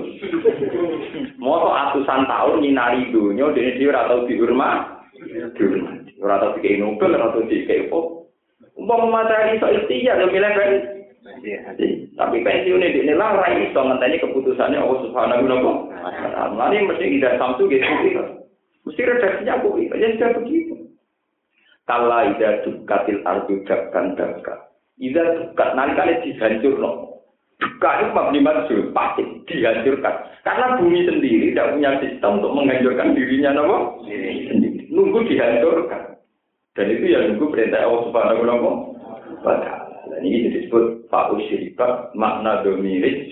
Moto atusan tahun nyinari dunia, dia ora tau dihormati. Ora tau dikei Nobel, ora tau dikei apa. Umpama matahari iso ikhtiar, dia milih pensiun. Tapi pensiun ini lah rai iso ngenteni keputusannya Allah Subhanahu wa taala. Mari mesti tidak samsu gitu. Mesti redaksinya aku itu sudah begitu. Kala ida dukatil ardu dakkan dakka. Ida dukat nanti dihancurno. Duka itu maknimat pasti dihancurkan. Karena bumi sendiri tidak punya sistem untuk menghancurkan dirinya sendiri. Nunggu dihancurkan. Dan itu ya nunggu perintah Allah Subhanahu wa taala. Dan ini disebut fa'usyribat makna domirik.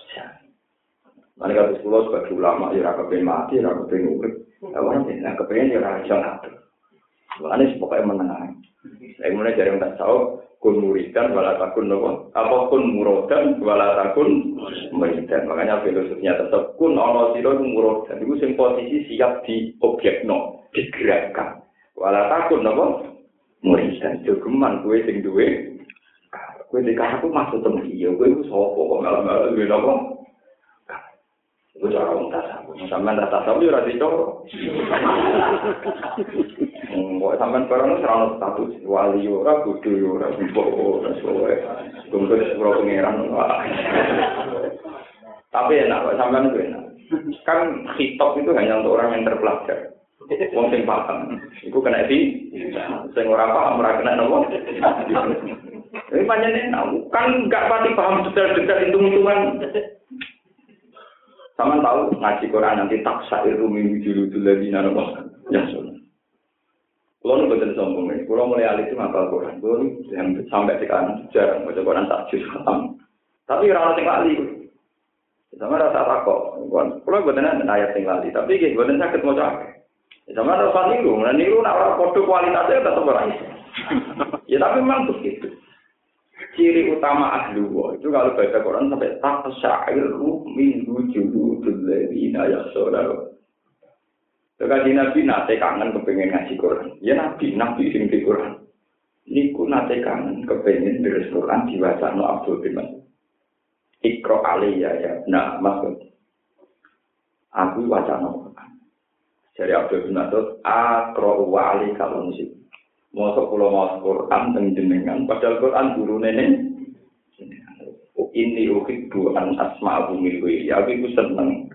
Mereka sekolah sebagai ulama, ya kepengen mati, ya kepengen urip. Ya kepengen ya raja ngatur. Ini pokoknya menengah. Saya mulai dari yang tak tahu, kun muridan, walatakun nopo. Apa kun murodan, walatakun muridan. Makanya filosofinya tetap kun ono siro murodan. Itu yang posisi siap di objek no, digerakkan. Walatakun nopo muridan. Jogeman gue sing duwe. Gue dikasih aku masuk temen dia, gue itu sopo kok malam-malam gue nopo. Gue cara untas aku, sampean rasa sapi ora dicoro. Kok sampean barang serana status wali ora kudu ora mbok ora soe. Tunggu sepuro pangeran. Tapi enak, sampean itu enak. Kan hitop itu hanya untuk orang yang terpelajar. Wong sing paham. Iku kena sing ora paham ora kena nopo. Ini panjenengan kan nggak pasti paham detail-detail hitung-hitungan. Sama tahu ngaji Quran nanti tak syair rumi judul lagi nana ya sudah. Kalau nu betul sombong ini, kalau mulai alis itu ngapal Quran, kalau yang sampai sekarang jarang baca Quran tak juz khatam. Tapi orang yang lali, sama rasa takut. Kalau betul ayat yang lali, tapi gitu betul sakit mau capek. Sama rasa niru nak orang kode kualitasnya tetap orang itu. Ya tapi memang begitu. Ciri utama ahli wa itu kalau baca Quran sampai tak syair min wujudul ladina yakhshawna. Jadi Nabi nate kangen kepengen ngaji Quran. Ya Nabi sing di Quran. Niku nate kangen kepengen deres Quran diwacana Abdul bin Mas'ud. Iqra alayya ya. Nah, maksud aku wacana Quran. Dari Abdul bin Mas'ud aqra wa alayka al-musib. Mosok kula maos Quran teng jenengan padahal Quran gurune ini uhibbu an asma'u min wa ya aku seneng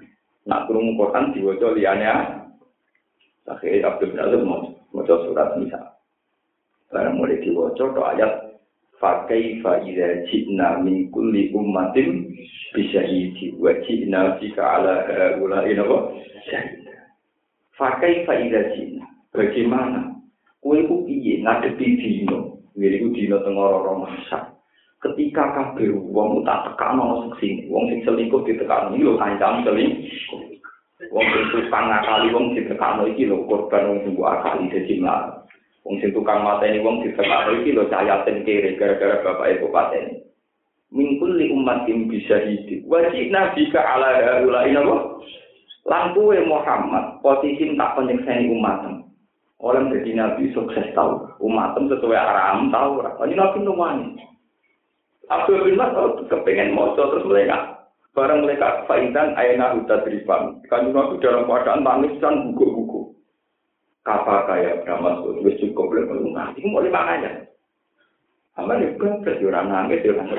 Nak krungu Quran diwaca liyane. Akhire Abdul bin Azam maca surat Nisa. Barang mulai diwaca to ayat fa kaifa idza ji'na min kulli ummatin bi syahidin wa ji'na bika ala haula'i syahid. Fa kaifa idza ji'na bagaimana kowe ku piye ngadepi dino ngene dino teng ora masak ketika kabeh wong tak tekano sing wong sing selingkuh ditekano iki lho kancam selingkuh wong sing tukang ngakali wong ditekano iki lho korban wong sing akali dadi mlarat. Wong sing tukang mateni wong ditekano iki lho cayaten kere gara-gara bapake bupatene. Mingkul li ummatin bisa hidup. Wajib nabi ka ala haula inapa? Lampu Muhammad posisi tak penyekseni umatem. Orang jadi nabi sukses tahu. Umatem sesuai aram tahu ora. Ini nabi numani. Abdul bin Mas'ud kepengen maca terus mereka. Barang mereka faidan ayna utadrifan. Kan nabi dalam keadaan nangis dan buku-buku. Apa kaya Mas'ud wis cukup lek ngono. Iku mau dimanganya. Amal itu kan nangis ya kan.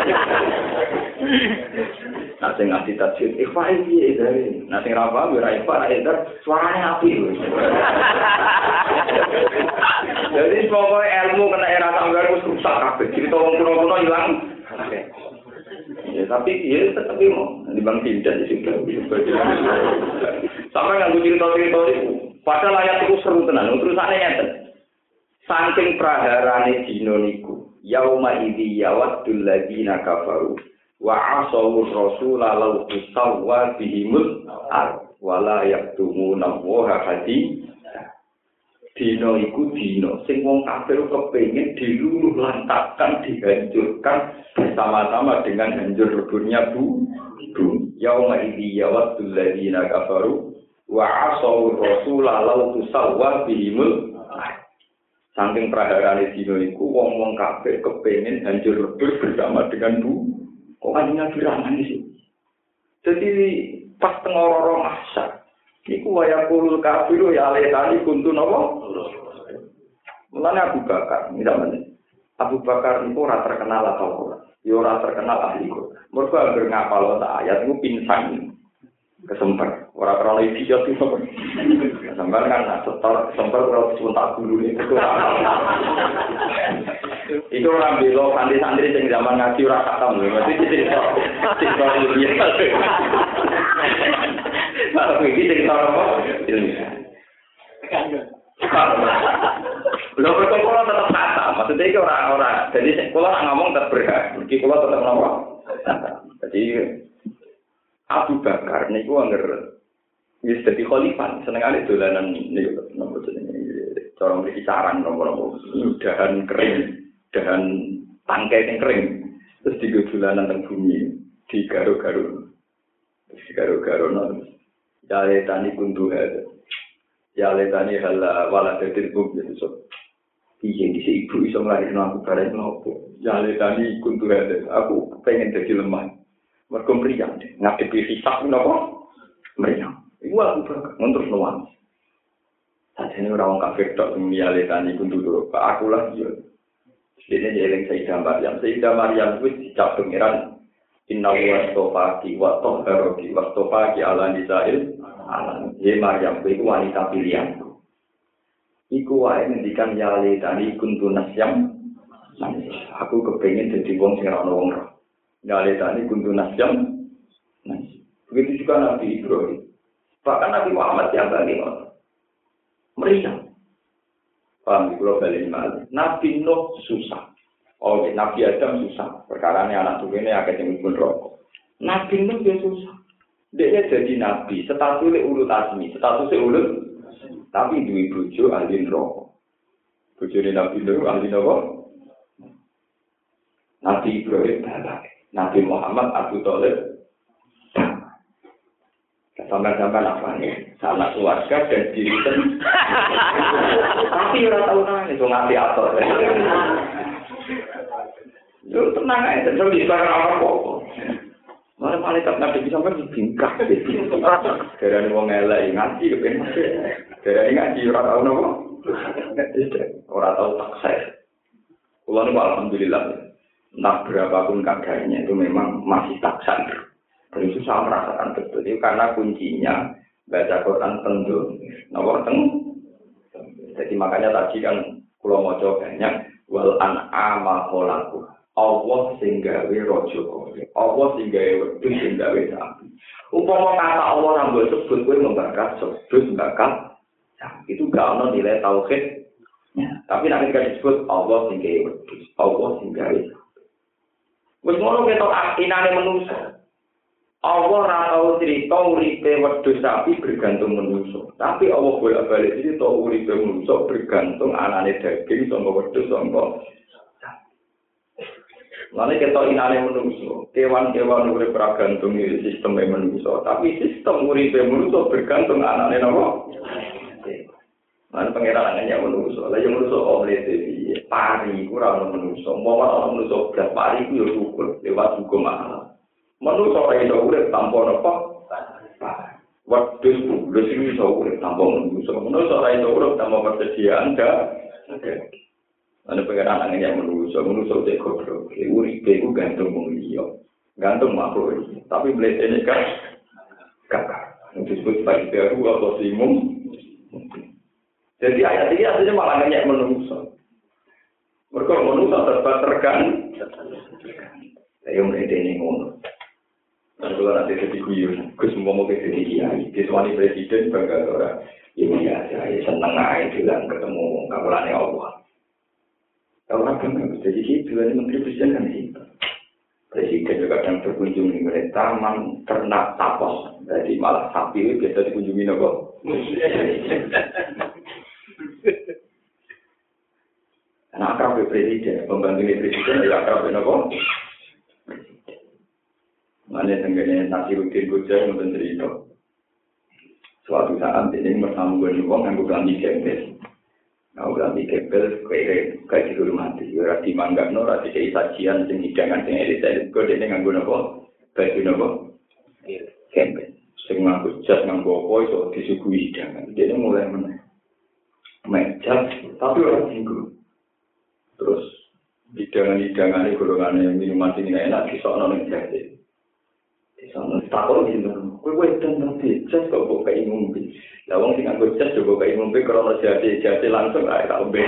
Nah sing ngasih tafsir ikhfa iki dari. Nah sing ra paham ora ikhfa ra eder suarane api. Jadi pokoknya ilmu kena era tanggal wis rusak kabeh. Cerita wong kuno-kuno ilang. Ya tapi dia tetap mau di Bang Tindak di situ. Sampai nganggo cerita-cerita itu. Padahal ayat itu seru tenan. Terusane ngeten. Saking praharane dina niku, yauma idzi yawaddul ladina kafaru wa asawu rasula law tusawwa bihimul ard wala yaktumuna wa hadi. Dina iku dina sing wong kafir kepengin diluluh lantakkan dihancurkan bersama-sama dengan hancur leburnya bumi. Yauma idzi yawaddul ladina kafaru wa asawu rasula law tusawwa bihimul ard. Saking praharane dina iku wong-wong kabeh kepengin hancur lebur bersama dengan bu. Kok kanjeng diraman sih. Jadi pas teng ora mahsyar niku waya kulul kafiru ya letani kuntu napa? Mulane Abu Bakar, misalnya Abu Bakar niku ora terkenal atau ora. Ya ora terkenal ahli kok. Mergo anggere ngapal ayat niku pinsang. Kesemper, orang krono idiot itu. Kesemper kan setor, kesemper kalau sebentar dulu itu. Itu orang belo santri-santri yang zaman ngaji ora khatam lho. Mesti cerita ilmiah. Kalau iki cerita apa? Ilmiah. Lho perkara tetap khatam. Maksudnya iki ora. Jadi kula ngomong tetap berhak. Iki kula tetap napa? Jadi Abu Bakar niku angger wis dadi khalifah, senengane dolanan niku nomor jenenge cara mriki saran nomor dahan kering, dahan tangkai sing kering. Terus digo dolanan teng bumi, digaro-garo. Terus digaro-garo nang jale tani kunduha. Jale tani hala wala tetir bum gitu. Piye dise ibu iso nglairno aku bareng nopo. Jale tani kunduha. Aku pengen dadi lemah. Mergo mriyang ngadepi hisab napa mriyang iku aku terus nuwun sajane ora wong kafir tok miyale tani kundu aku lah yo dene eling Sayyidah Maryam wis dicap pengiran inna wastofaki wa tahharuki wastofaki ala nisail alam ye Maryam iku wanita pilihan iku wae ngendikan yale tani kundu nasyam aku kepengin dadi wong sing ora ono wong Galetani kuntu nasyam. Begitu juga Nabi Ibrahim. Bahkan Nabi Muhammad yang bagi meriang. Paham di pulau Bali Mali. Nabi Nuh susah. Oh, Nabi Adam susah. Perkaranya anak tuh ini agak yang pun rokok. Nabi Nuh dia susah. Dia jadi Nabi. Statusnya ulut asmi. Statusnya ulut. Tapi dua bojo ahli rokok. Bojo Nabi Nuh ahli rokok. Nabi Ibrahim balak. Nabi Muhammad Abu Thalib sampai-sampai apa nih sanak keluarga dan diri sendiri tapi orang tahu nangis itu ngapi ator itu tenang aja terus disebutkan apa-apa malah malaikat Nabi bisa sampai dibingkak dari wong elek ngaji kepengen dari ngaji orang tahu nopo orang tahu takses kalau alhamdulillah. Nah berapapun keadaannya itu memang masih taksan. Itu saya merasakan betul itu karena kuncinya baca Quran tendung. Nomor Jadi makanya tadi kan kula maca banyak wal an'ama khalaqu. Allah sing gawe raja kaya. Allah sing gawe wedhus sing gawe sapi. Umpama kata Allah ora mbok sebut kowe membakar sebut bakar. Itu gak ono nilai tauhid. Tapi nek disebut Allah sing gawe wedhus, Allah sing gawe. Wis ngono ketok inane manusa. Allah ora tau cerita uripe wedhus sapi bergantung manusa. Tapi Allah bolak-balik cerita uripe manusa bergantung anane daging saka wedhus saka. Lalu ketok inane manusa. Kewan-kewan urip bergantung sistem manusa, tapi sistem uripe manusa bergantung anane napa? Lan pangeran hanya manusa. Lah yang manusa oleh piye? Pari ora ono manusa. Mau ora ono manusa blas pari ku yo syukur lewat hukum Allah. Manusa ora iso urip tanpa napa? Wedhus lho sing iso urip tanpa manusa. Manusa ora iso urip tanpa persediaan Ana pangeran hanya manusa cek goblok. Uripe ku gantung wong liya. Gantung makhluk. Tapi mletene kan kakak. Disebut sebagai baru atau simum. Jadi ayat ini artinya malah banyak manusia. Mereka manusia tergan. Saya mulai ini ngono. Dan kalau nanti jadi guyon, semua mau jadi kiai, diswani presiden bangga orang. Ya biasa, seneng aja bilang ketemu kawalannya Allah. Orang bangga jadi gitu, ini menteri presiden kan gitu. Presiden juga kadang berkunjung di taman ternak tapos, jadi malah sapi biasa dikunjungi apa? Anak akrab presiden, pembantu presiden ya akrab apa? Mana tenggane Nasiruddin Goja yang cerita. Suatu saat ini bersambung dengan orang yang bukan di gembel. Nah, bukan di gembel kayak di rumah mati. Ora dimanggapno, ora dikei sajian sing hidangan sing elit-elit kok dene nganggo napa? Baju napa? Gembel. Sing nganggo jas nganggo apa iso disuguhi hidangan. Dene mulai meja tapi orang tinggal. Terus hidangan-hidangan golongan minuman sing enak disokno ning jati. Disokno takon gitu. Kowe dan nanti jas kok kok kayak ngombe. Lah wong sing nganggo jas yo kok kayak ngombe karena jati langsung ae tak ombe.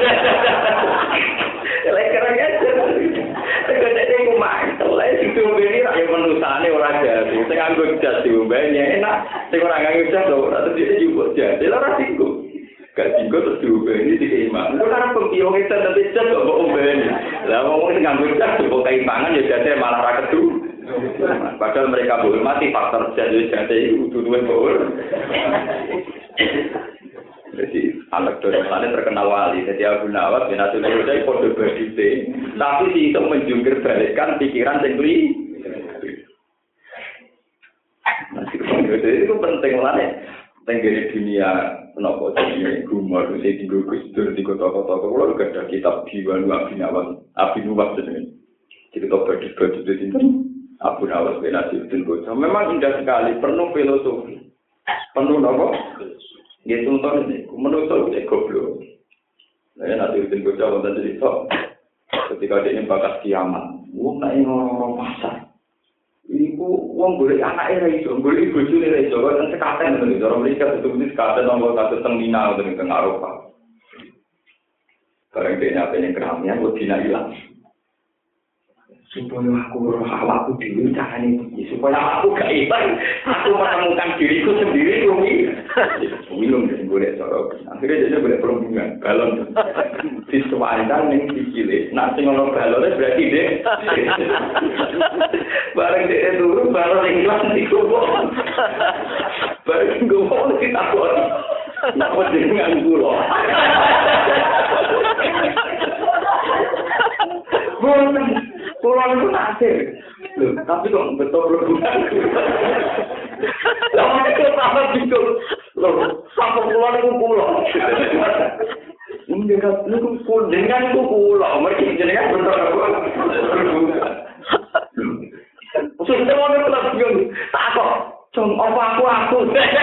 Lek keren aja. Tegese ku mantel lek sing ombe iki ra manusane ora jati. Sing nganggo jas diombe enak. Sing ora nganggo jas ora terus juga jati. Lah ora singgung. Gak tinggal terus diubeni dikeimang. Itu karena pempiong itu nanti jas kok ubeni. Lah ngomong dengan jas kok keimbangan ya jadinya malah raketu. Padahal mereka hormati faktor jas jadi itu dua bawor. Jadi anak dorongannya terkenal wali. Jadi Abu Nawas bin Abdul Qadir kode badite. Tapi si itu menjungkir balikkan pikiran sendiri. Itu penting lah. Tenggiri dunia kenapa jadi rumah itu saya tinggal kustur di kota-kota kalau gak ada kitab Diwan Abi Nuwas jadi kita berdiskusi di sini Abu Nawas bin Nasiruddin Goja memang indah sekali penuh filosofi penuh apa? Dia contoh ini menurut saya goblok. Saya Nasiruddin Goja wanita cerita ketika dia bakas kiamat, naik ngomong pasar. Iku wong golek anake ra iso, golek bojone ra iso, kan sekaten ngono lho, orang mereka betul-betul sekaten nang kados teng Mina utawa teng Eropa. Bareng dene apene keramian wedine ilang. Supaya aku roh awakku dhewe carane piye supaya aku gak ilang, aku menemukan diriku sendiri kuwi. Minum sing golek cara. Akhire dene golek perlindungan, balon. Disuwandan ning sikile. Nek sing ono balone berarti dek. Bareng dek turu balon ning lan iku. Bareng gowo ditakon. Napa dengan kula? Pulau itu nasir, tapi kok betul berguna. Lalu itu sama gitu, sampai pulau itu pulau. Dengan itu pulau, mereka jenengan betul berguna. Sudah mau ngelak tak kok, apa aku.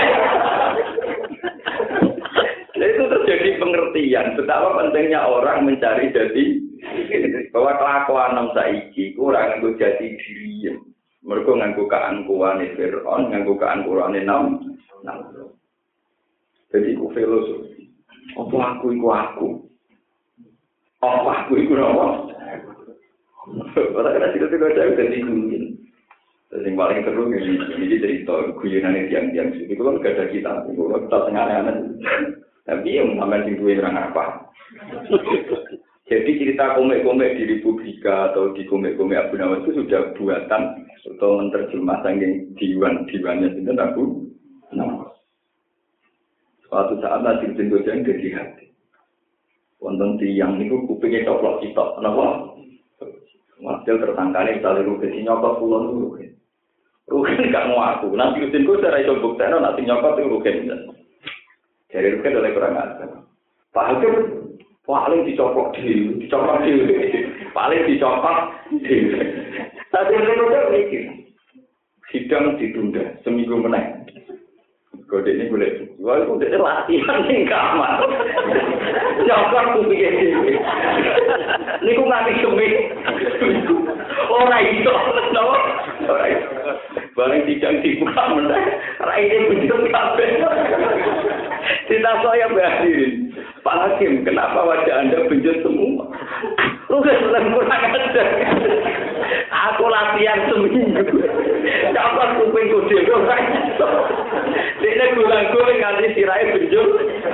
Itu terjadi pengertian betapa pentingnya orang mencari jati bahwa kelakuan nom saiki kurang nggo jati diri. Mereka nganggo keangkuhane Fir'aun, nganggo keangkuhane Namrud. Jadi ku filosofi. Apa aku iku aku? Apa aku iku apa? Ora kena cerita-cerita dari guyon. Yang paling seru ini cerita guyonane tiang-tiang suci. Itu kan gak ada kita tengah aneh-aneh. Tapi yang sampai sing duwe orang apa? Jadi cerita komik-komik di Republika atau di komik-komik Abu Nawas itu sudah buatan atau menerjemah saking diwan-diwannya itu Abu Nawas. Suatu saat nanti Gojang jadi hati. Wonten tiang itu kupingnya coplok kita, kenapa? Hasil tersangkanya misalnya Rugen nyokot pulau dulu. Rugen gak mau aku. Nanti Rugen gue secara itu buktinya nanti nyokot itu Rugen. Jadi Rugen oleh kurang ajar. Pak Hakim paling dicopot di, paling dicopot di. Tapi Rugen mikir sidang ditunda seminggu menang. Kode ini boleh. Wah, itu udah latihan nih kamar. Nyokot tuh pikir ini. Ini kok nggak disebut. Orang itu, no. Orang itu. Barang tidak dibuka menang. Orang ini betul kabel. Kita saya berhadirin. Pak Hakim, kenapa wajah Anda benjut semua? Udah kurang ajar. Aku latihan seminggu. Dapat kuping kucing orang itu. Dia gulang-guling nganti sirahnya benjut.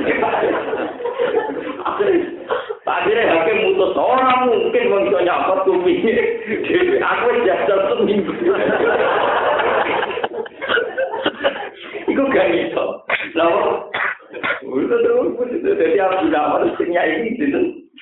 Akhirnya Hakim mutus orang mungkin bisa nyapot kupingnya. Aku jajal seminggu. Iku gak bisa. Lalu, udah terus. Jadi Abu Nawas ini gitu.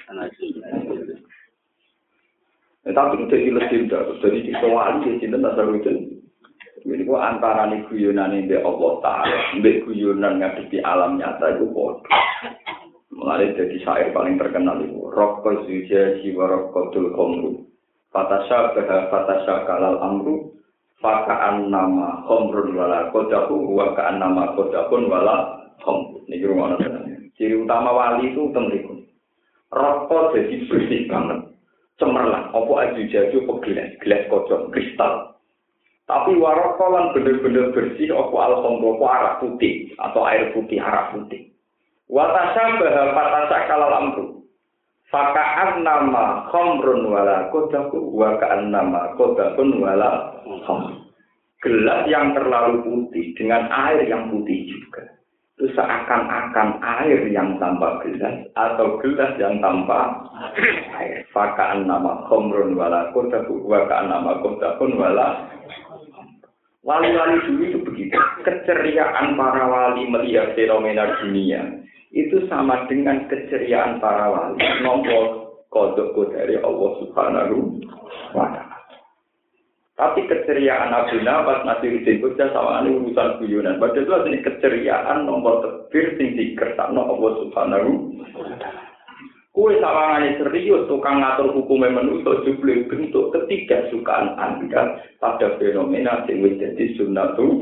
Tapi itu jadi legenda, jadi dikawali di sini tak seru itu. Jadi kok antara nih guyonan ini Allah Taala, mbek guyonan ngadepi alam nyata itu bodoh. Mulai jadi syair paling terkenal itu. Rokko zuja jiwa rokkotul khomru, fatasya kalal amru, fakaan nama khomrun wala kodahu, wakaan nama kodahun wala khomru. Ini rumah nanya. Ciri utama wali itu temriku. Rokko jadi bersih banget. Cemerlang, apa aju jaju gelas kocok, kristal. Tapi warokolan bener-bener bersih, apa alhamdulillah, apa arak putih, atau air putih, arak putih. Watasya bahafatasa kalal amru. Faka'an nama khomrun wala kodaku, waka'an nama kodakun wala khomrun. Gelas yang terlalu putih, dengan air yang putih juga. Itu seakan-akan air yang tanpa gelas atau gelas yang tanpa air. Fakaan nama khomrun wala kodaku, wakaan nama kodakun wala. Wali-wali dulu itu begitu. Keceriaan para wali melihat fenomena dunia itu sama dengan keceriaan para wali nombor kodok dari Allah Subhanahu wa Ta'ala. Tapi keceriaan Abu Nawas Nasiruddin Qudus sama ini urusan guyonan. Padahal itu artinya keceriaan nomor terakhir sing dikersakno Allah Subhanahu wa Ta'ala. Kue sawangane serius tukang ngatur hukume manusa jebule bentuk ketidaksukaan Anda pada fenomena sing wis dadi sunnatu.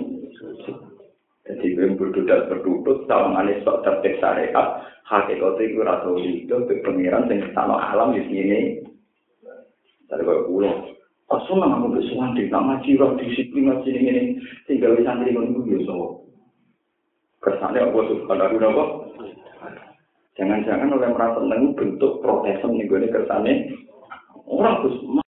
Jadi berdudat berdudut sawangane sok tertib syariat hakikate iku ora tau itu pengiran sing sama alam di sini. Dari kula Asal aku bersuan di nama jiwa disiplin ngaji ini tinggal di santri menunggu biasa. Kesannya aku Subhanahu wa Ta'ala. Jangan-jangan oleh merasa menunggu bentuk protesan nih gue kesannya orang